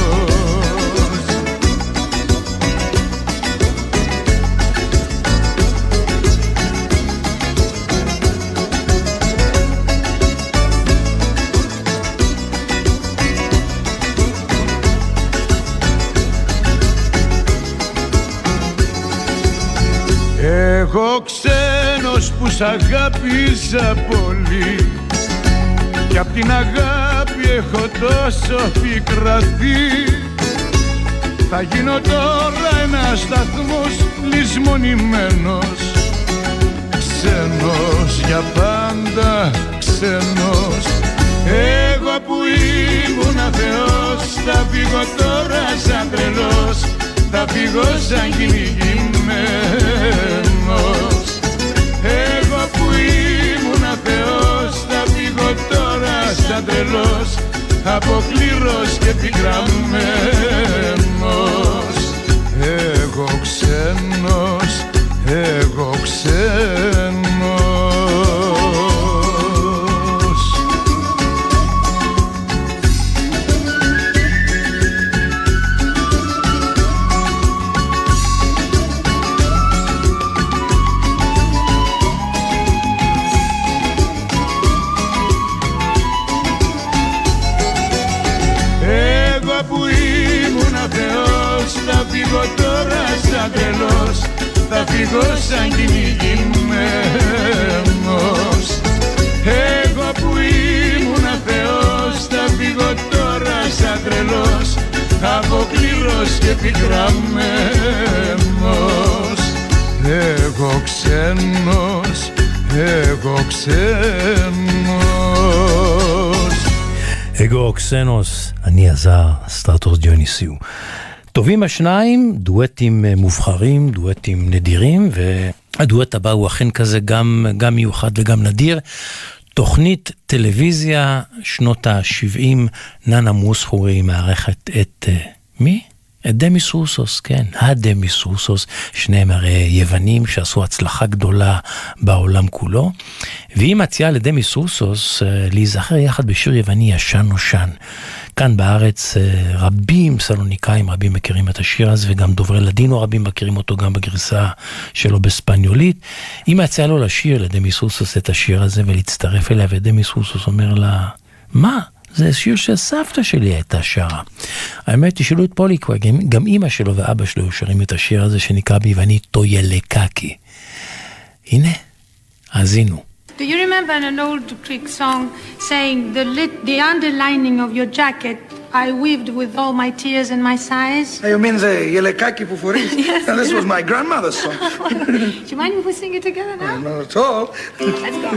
Εγώ ξένος που σ' αγάπησα πολύ κι απ' την αγάπη έχω τόσο πικραθεί, θα γίνω τώρα ένας σταθμός λησμονημένος, ξένος για πάντα ξένος. ήμουν Θεός, θα φύγω τώρα σαν τρελός, θα φύγω σαν κυνηγημένος. Εγώ που ήμουν Θεός, θα φύγω τώρα σαν τρελός, αποκλήρος και πικραμένος. Εγώ ξένος, εγώ ξένος. Εγώ που ήμουν Θεός, θα φύγω τώρα σαν τρελός, θα φύγω σαν κυνηγημένος. Εγώ που ήμουν Θεός, θα φύγω τώρα σαν τρελός, αποκλήρος και πικραμένος. Εγώ ξένος, εγώ ξένος. אגו אוקסנוס, אני הזר, סטרטוס דיוניסיו. טובים השניים, דואטים מובחרים, דואטים נדירים, והדואט הבא הוא אכן כזה גם, גם מיוחד וגם נדיר. תוכנית טלוויזיה, שנות ה-שבעים, ננה מוסחורי מערכת את... מי? את דמיס רוסוס, כן, הדמיס רוסוס, שניהם הרי יוונים שעשו הצלחה גדולה בעולם כולו, והיא מציעה לדמיס רוסוס להיזכר יחד בשיר יווני ישן נושן. כאן בארץ רבים סלוניקאים, רבים מכירים את השיר הזה, וגם דוברי לדינו רבים מכירים אותו גם בגרסה שלו בספניולית. היא מציעה לו לשיר לדמיס רוסוס את השיר הזה ולהצטרף אליה, ודמיס רוסוס אומר לה, מה? זה שיר שסבתא שלי הייתה שרה. האמת, תשאלו את פוליקווה, גם אמא שלו ואבא שלו שרים את השיר הזה שנקרא ביוונית טוילקקי. הנה, האזינו. Do you remember an old Greek song saying the lit, the underlining of your jacket I weaved with all my tears and my sighs? You mean the Yelekaki που φορείς? Yes. And this was my grandmother's song. Do you mind if we sing it together now? Not at all. Let's go.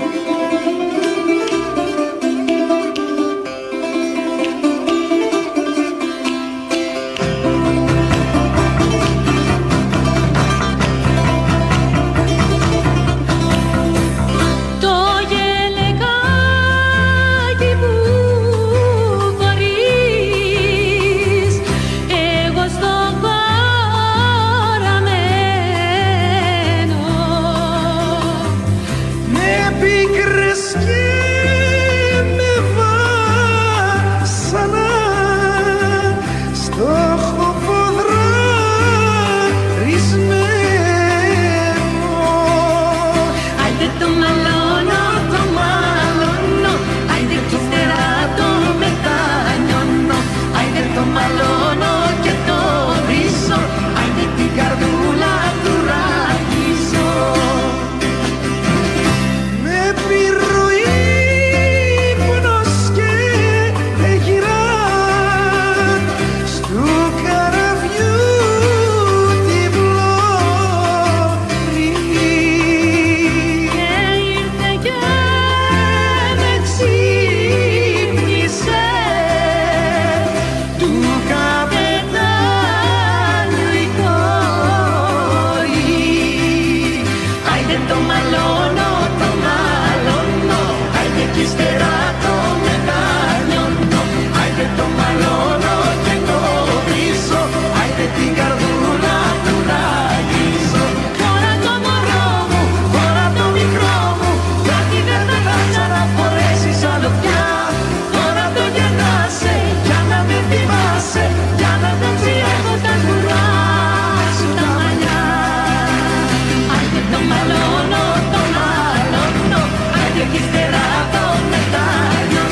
Ύστερα το μετάλλιο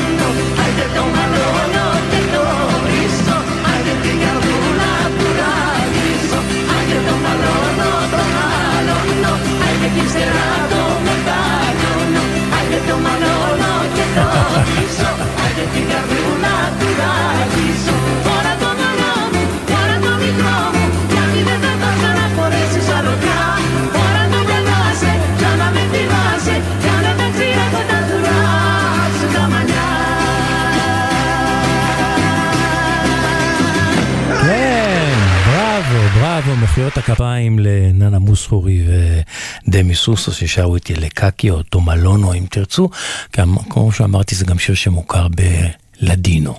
מחיאות הכפיים לננה מוסחורי ודמי סוסו ששרו את ילקקי או תומלונו אם תרצו, כמו שאמרתי זה גם שיר שמוכר בלדינו.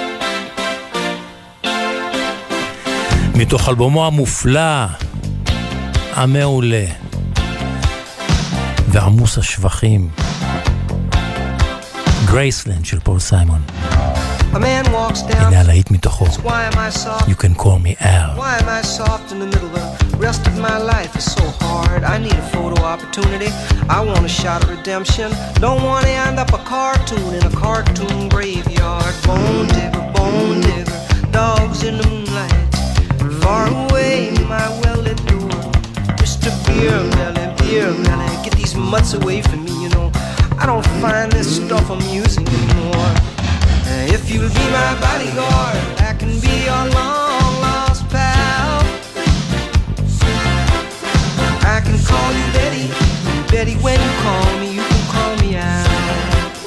מתוך אלבומו המופלא, המעולה ועמוס השבחים, גרייסלנד של פול סיימון. A man walks down. הנה הלהיט מתוכו. Why am I soft? You can call me Al. Why am I soft in the middle? The rest of my life is so hard. I need a photo opportunity. I want a shot at redemption. Don't want to end up a cartoon in a cartoon graveyard. Bone digger, bone digger, dogs in the moonlight. Far away, my well-lit door. Mister Beer Melly, Beer Melly, get these mutts away from me, you know. I don't find this stuff amusing anymore. If you'll be my bodyguard, I can be your long-lost pal. I can call you Betty, Betty, when you call me, you can call me out.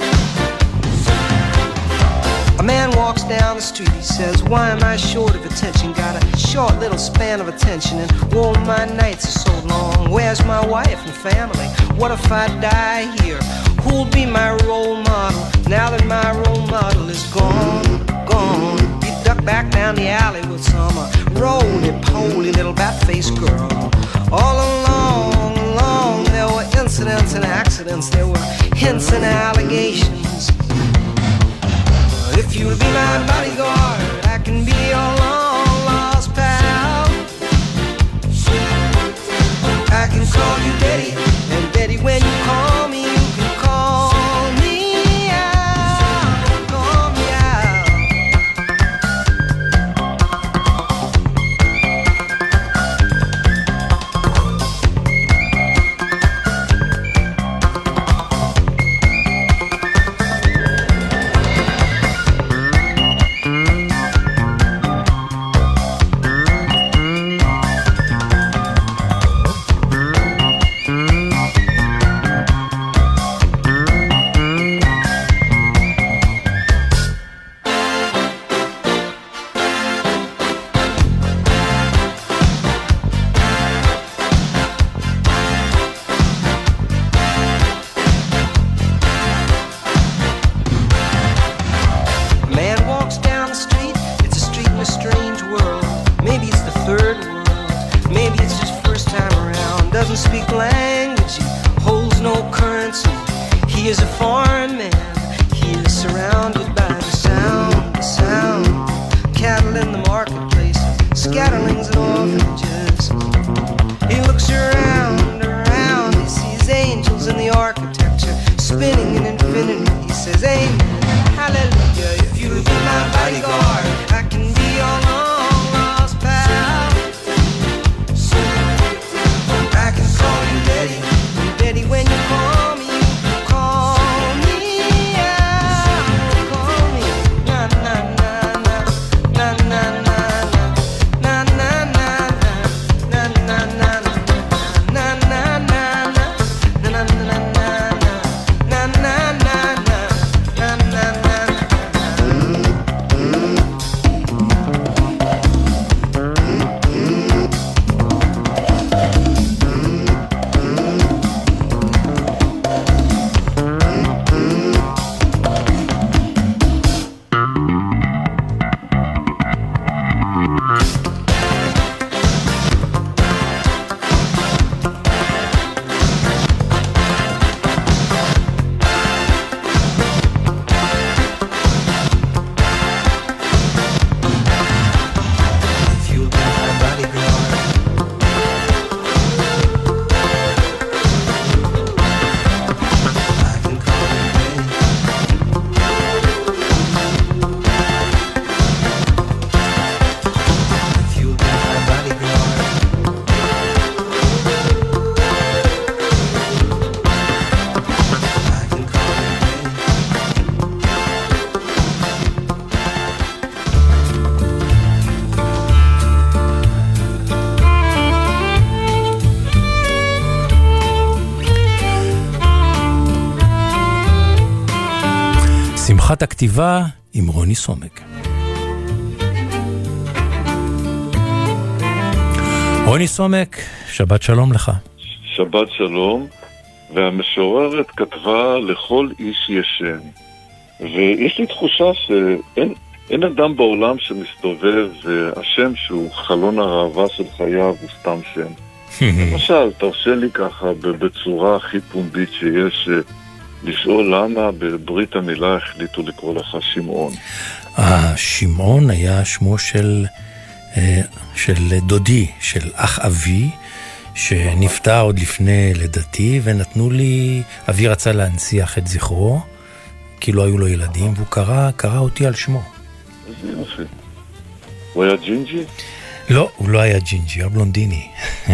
A man walks down the street, he says, why am I short of attention? Got a short little span of attention, and whoa, my nights are so long. Where's my wife and family? What if I die here? Who'll be my role model now that my role model is gone, gone? You duck back down the alley with some uh, roly-poly little bat-faced girl. All along, along, there were incidents and accidents. There were hints and allegations. If you'll be my bodyguard, I can be your long-lost pal. I can call you Betty, and Betty, when you call me, you can call me out, call me out. שמחת הכתיבה עם רוני סומק. רוני סומק, שבת שלום לך. שבת שלום, והמשוררת כתבה לכל איש ישן. ויש לי תחושה שאין אין אדם בעולם שמסתובב והשם שהוא חלון הראווה של חייו הוא סתם שם. למשל, תרשה לי ככה בצורה הכי פומבית שיש לשאול למה בברית המילה החליטו לקרוא לך שמעון. אה, שמעון היה שמו של, של דודי, של אח אבי, שנפטר עוד לפני לידתי, ונתנו לי, אבי רצה להנציח את זכרו, כי לא היו לו ילדים, והוא קרא, קרא אותי על שמו. איזה יופי. הוא היה ג'ינג'י? לא, הוא לא היה ג'ינג'י, היה בלונדיני.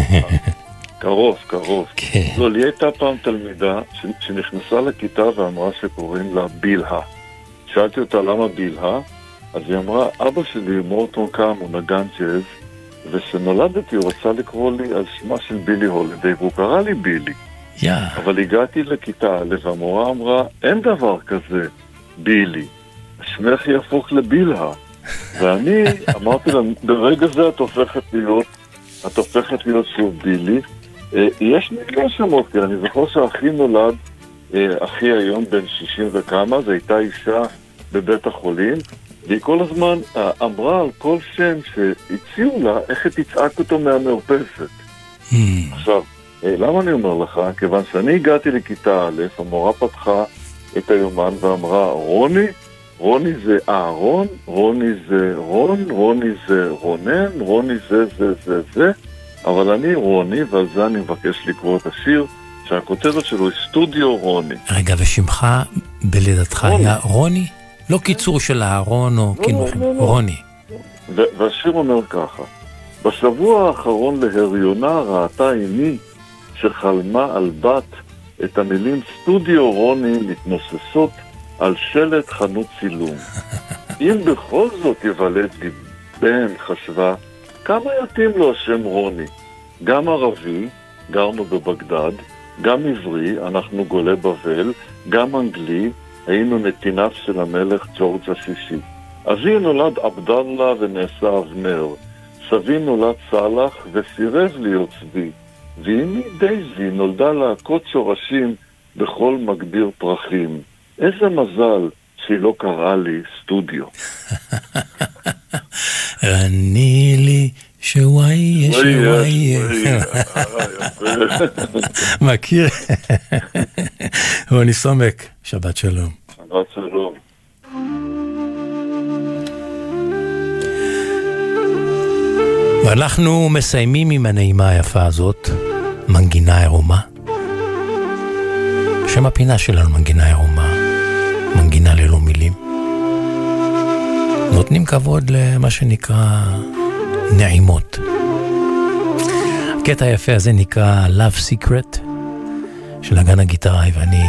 קרוב, קרוב. כן. לא, לי הייתה פעם תלמידה שנכנסה לכיתה ואמרה שקוראים לה בילהה. שאלתי אותה למה בילהה, אז היא אמרה, אבא שלי מורטון קאם הוא נגן ג'אז, ושנולדתי הוא רצה לקרוא לי על שמה של בילי הולידיי, והוא קרא לי בילי. Yeah. אבל הגעתי לכיתה א' והמורה אמרה, אין דבר כזה, בילי. שמך יהפוך לבילהה. ואני אמרתי לה, ברגע זה את הופכת להיות, את הופכת להיות שוב בילי. יש מיליון שמות, כי אני זוכר שאחי נולד, אחי היום בן שישים וכמה, זו הייתה אישה בבית החולים, והיא כל הזמן אמרה על כל שם שהציעו לה, איך היא תצעק אותו מהמרפסת. Mm. עכשיו, למה אני אומר לך? כיוון שאני הגעתי לכיתה א', המורה פתחה את היומן ואמרה, רוני, רוני זה אהרון, רוני זה רון, רוני זה רונן, רוני זה זה זה זה, אבל אני רוני, ועל זה אני מבקש לקרוא את השיר, שהכותרת שלו היא סטודיו רוני. רגע, ושמך בלידתך היה רוני? לא קיצור של אהרון או כינויים, רוני. והשיר אומר ככה, בשבוע האחרון להריונה ראתה אמי שחלמה על בת את המילים סטודיו רוני מתנוססות על שלט חנות צילום. אם בכל זאת יוולד לי בן, חשבה, כמה יתאים לו השם רוני? גם ערבי, גרנו בבגדד, גם עברי, אנחנו גולי בבל, גם אנגלי, היינו נתיניו של המלך ג'ורג' השישי. אבי נולד עבדאללה ונעשה אבנר, סבי נולד סלח וסירב להיות צבי, ואמי דייזי נולדה להכות שורשים בכל מגביר פרחים. איזה מזל שהיא לא קראה לי סטודיו. רני לי שוואי שוואי. מכיר? רוני סומק, שבת שלום. שבת שלום. ואנחנו מסיימים עם הנעימה היפה הזאת, מנגינה עירומה. שם הפינה שלנו מנגינה עירומה, מנגינה ללא מילים. נותנים כבוד למה שנקרא נעימות. הקטע היפה הזה נקרא Love Secret של נגן הגיטרה, ואני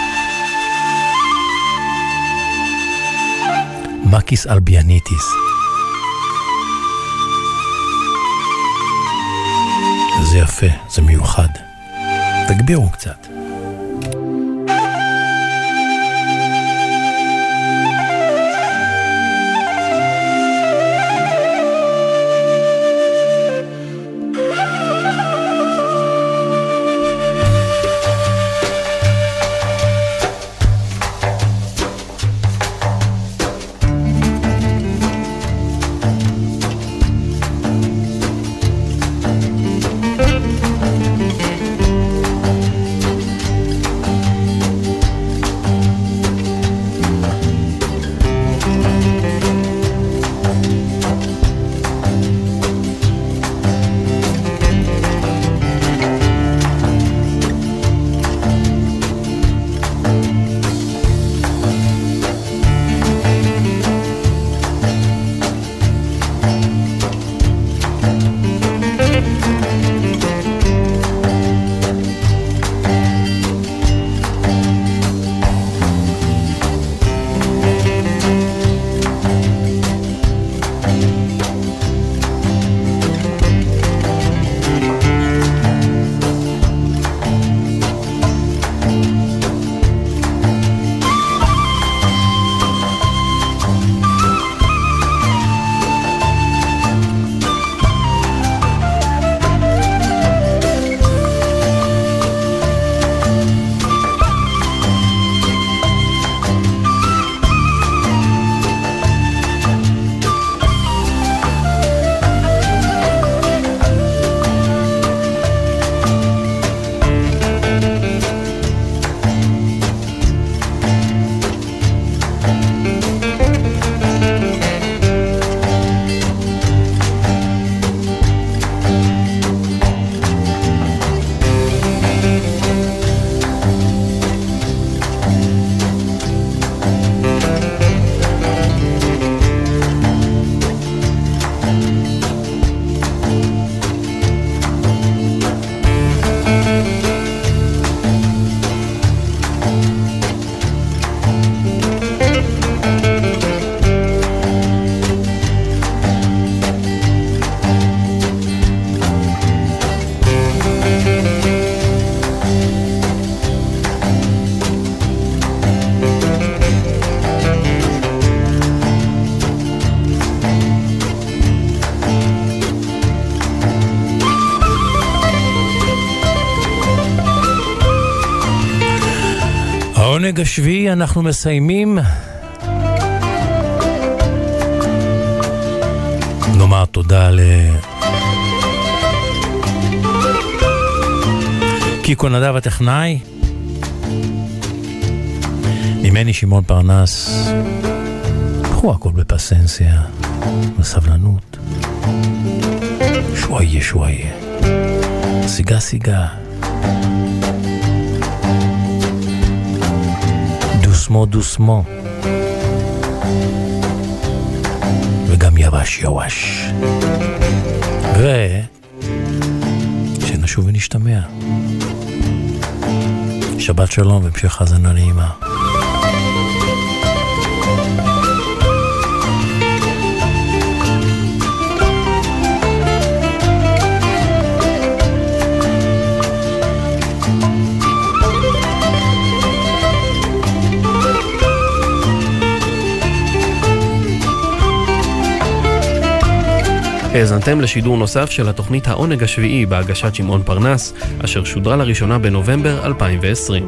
מקיס אלביאניטיס. זה יפה, זה מיוחד. תגבירו קצת. העונג השביעי אנחנו מסיימים. נאמר תודה ל... קיקו נדב הטכנאי, ממני שמעון פרנס. קחו הכל בפסנסיה, בסבלנות. שוואיה שוואיה, סיגה סיגה, דוסמו דוסמו, וגם יבש יבש. ושנשוב ונשתמע. שבת שלום והמשך האזנה נעימה. האזנתם לשידור נוסף של התוכנית העונג השביעי בהגשת שמעון פרנס, אשר שודרה לראשונה בנובמבר אלפיים ועשרים.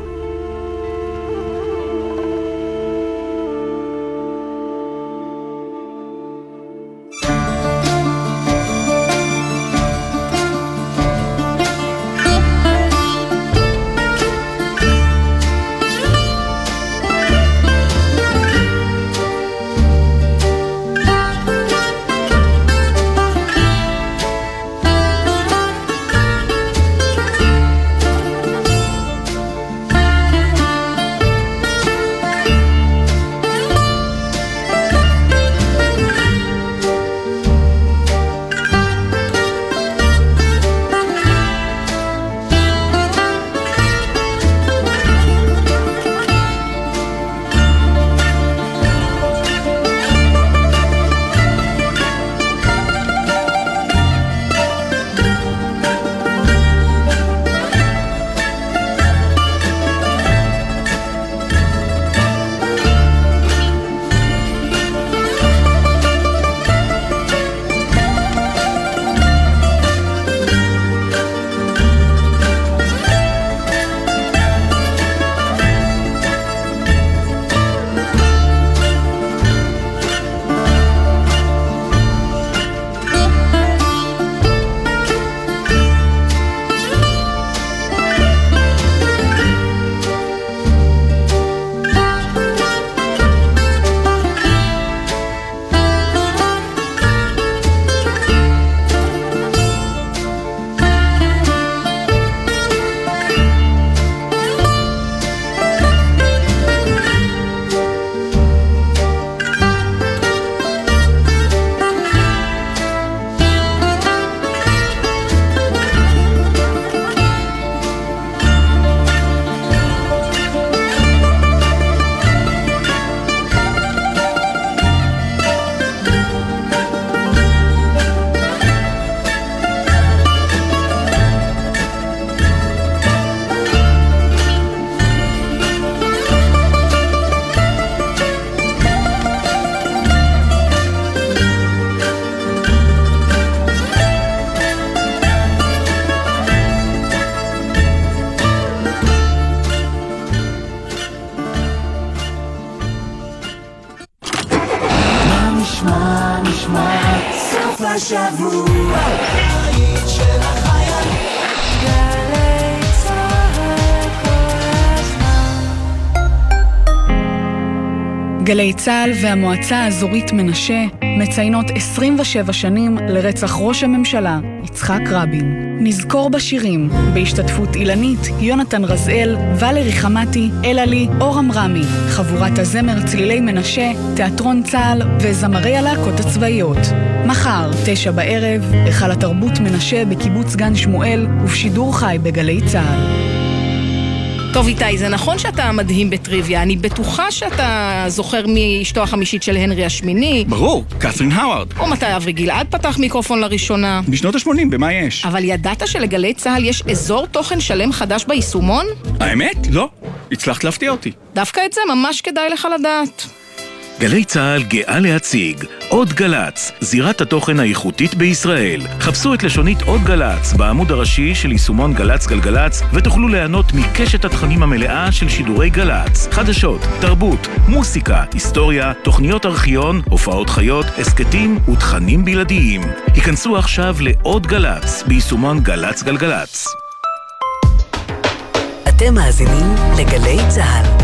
גלי צהל והמועצה האזורית מנשה מציינות עשרים ושבע שנים לרצח ראש הממשלה יצחק רבין. נזכור בשירים בהשתתפות אילנית, יונתן רזאל, ולרי חמתי, אלעלי, אורם רמי, חבורת הזמר צלילי מנשה, תיאטרון צהל וזמרי הלהקות הצבאיות. מחר, תשע בערב, היכל התרבות מנשה בקיבוץ גן שמואל ובשידור חי בגלי צהל. טוב איתי, זה נכון שאתה מדהים בטריוויה, אני בטוחה שאתה זוכר מאשתו החמישית של הנרי השמיני. ברור, קת'רין האווארד. או מתי אברי גלעד פתח מיקרופון לראשונה. בשנות ה-שמונים, במה יש? אבל ידעת שלגלי צהל יש אזור תוכן שלם חדש ביישומון? האמת? לא. הצלחת להפתיע אותי. דווקא את זה ממש כדאי לך לדעת. גלי צהל גאה להציג עוד גלץ, זירת התוכן האיכותית בישראל. חפשו את לשונית עוד גלץ בעמוד הראשי של יישומון גלץ גלגלץ ותוכלו ליהנות מקשת התכנים המלאה של שידורי גלץ. חדשות, תרבות, מוסיקה, היסטוריה, תוכניות ארכיון, הופעות חיות, הסקטים ותכנים בלעדיים. היכנסו עכשיו לעוד גלץ ביישומון גלץ גלגלץ. אתם מאזינים לגלי צהל.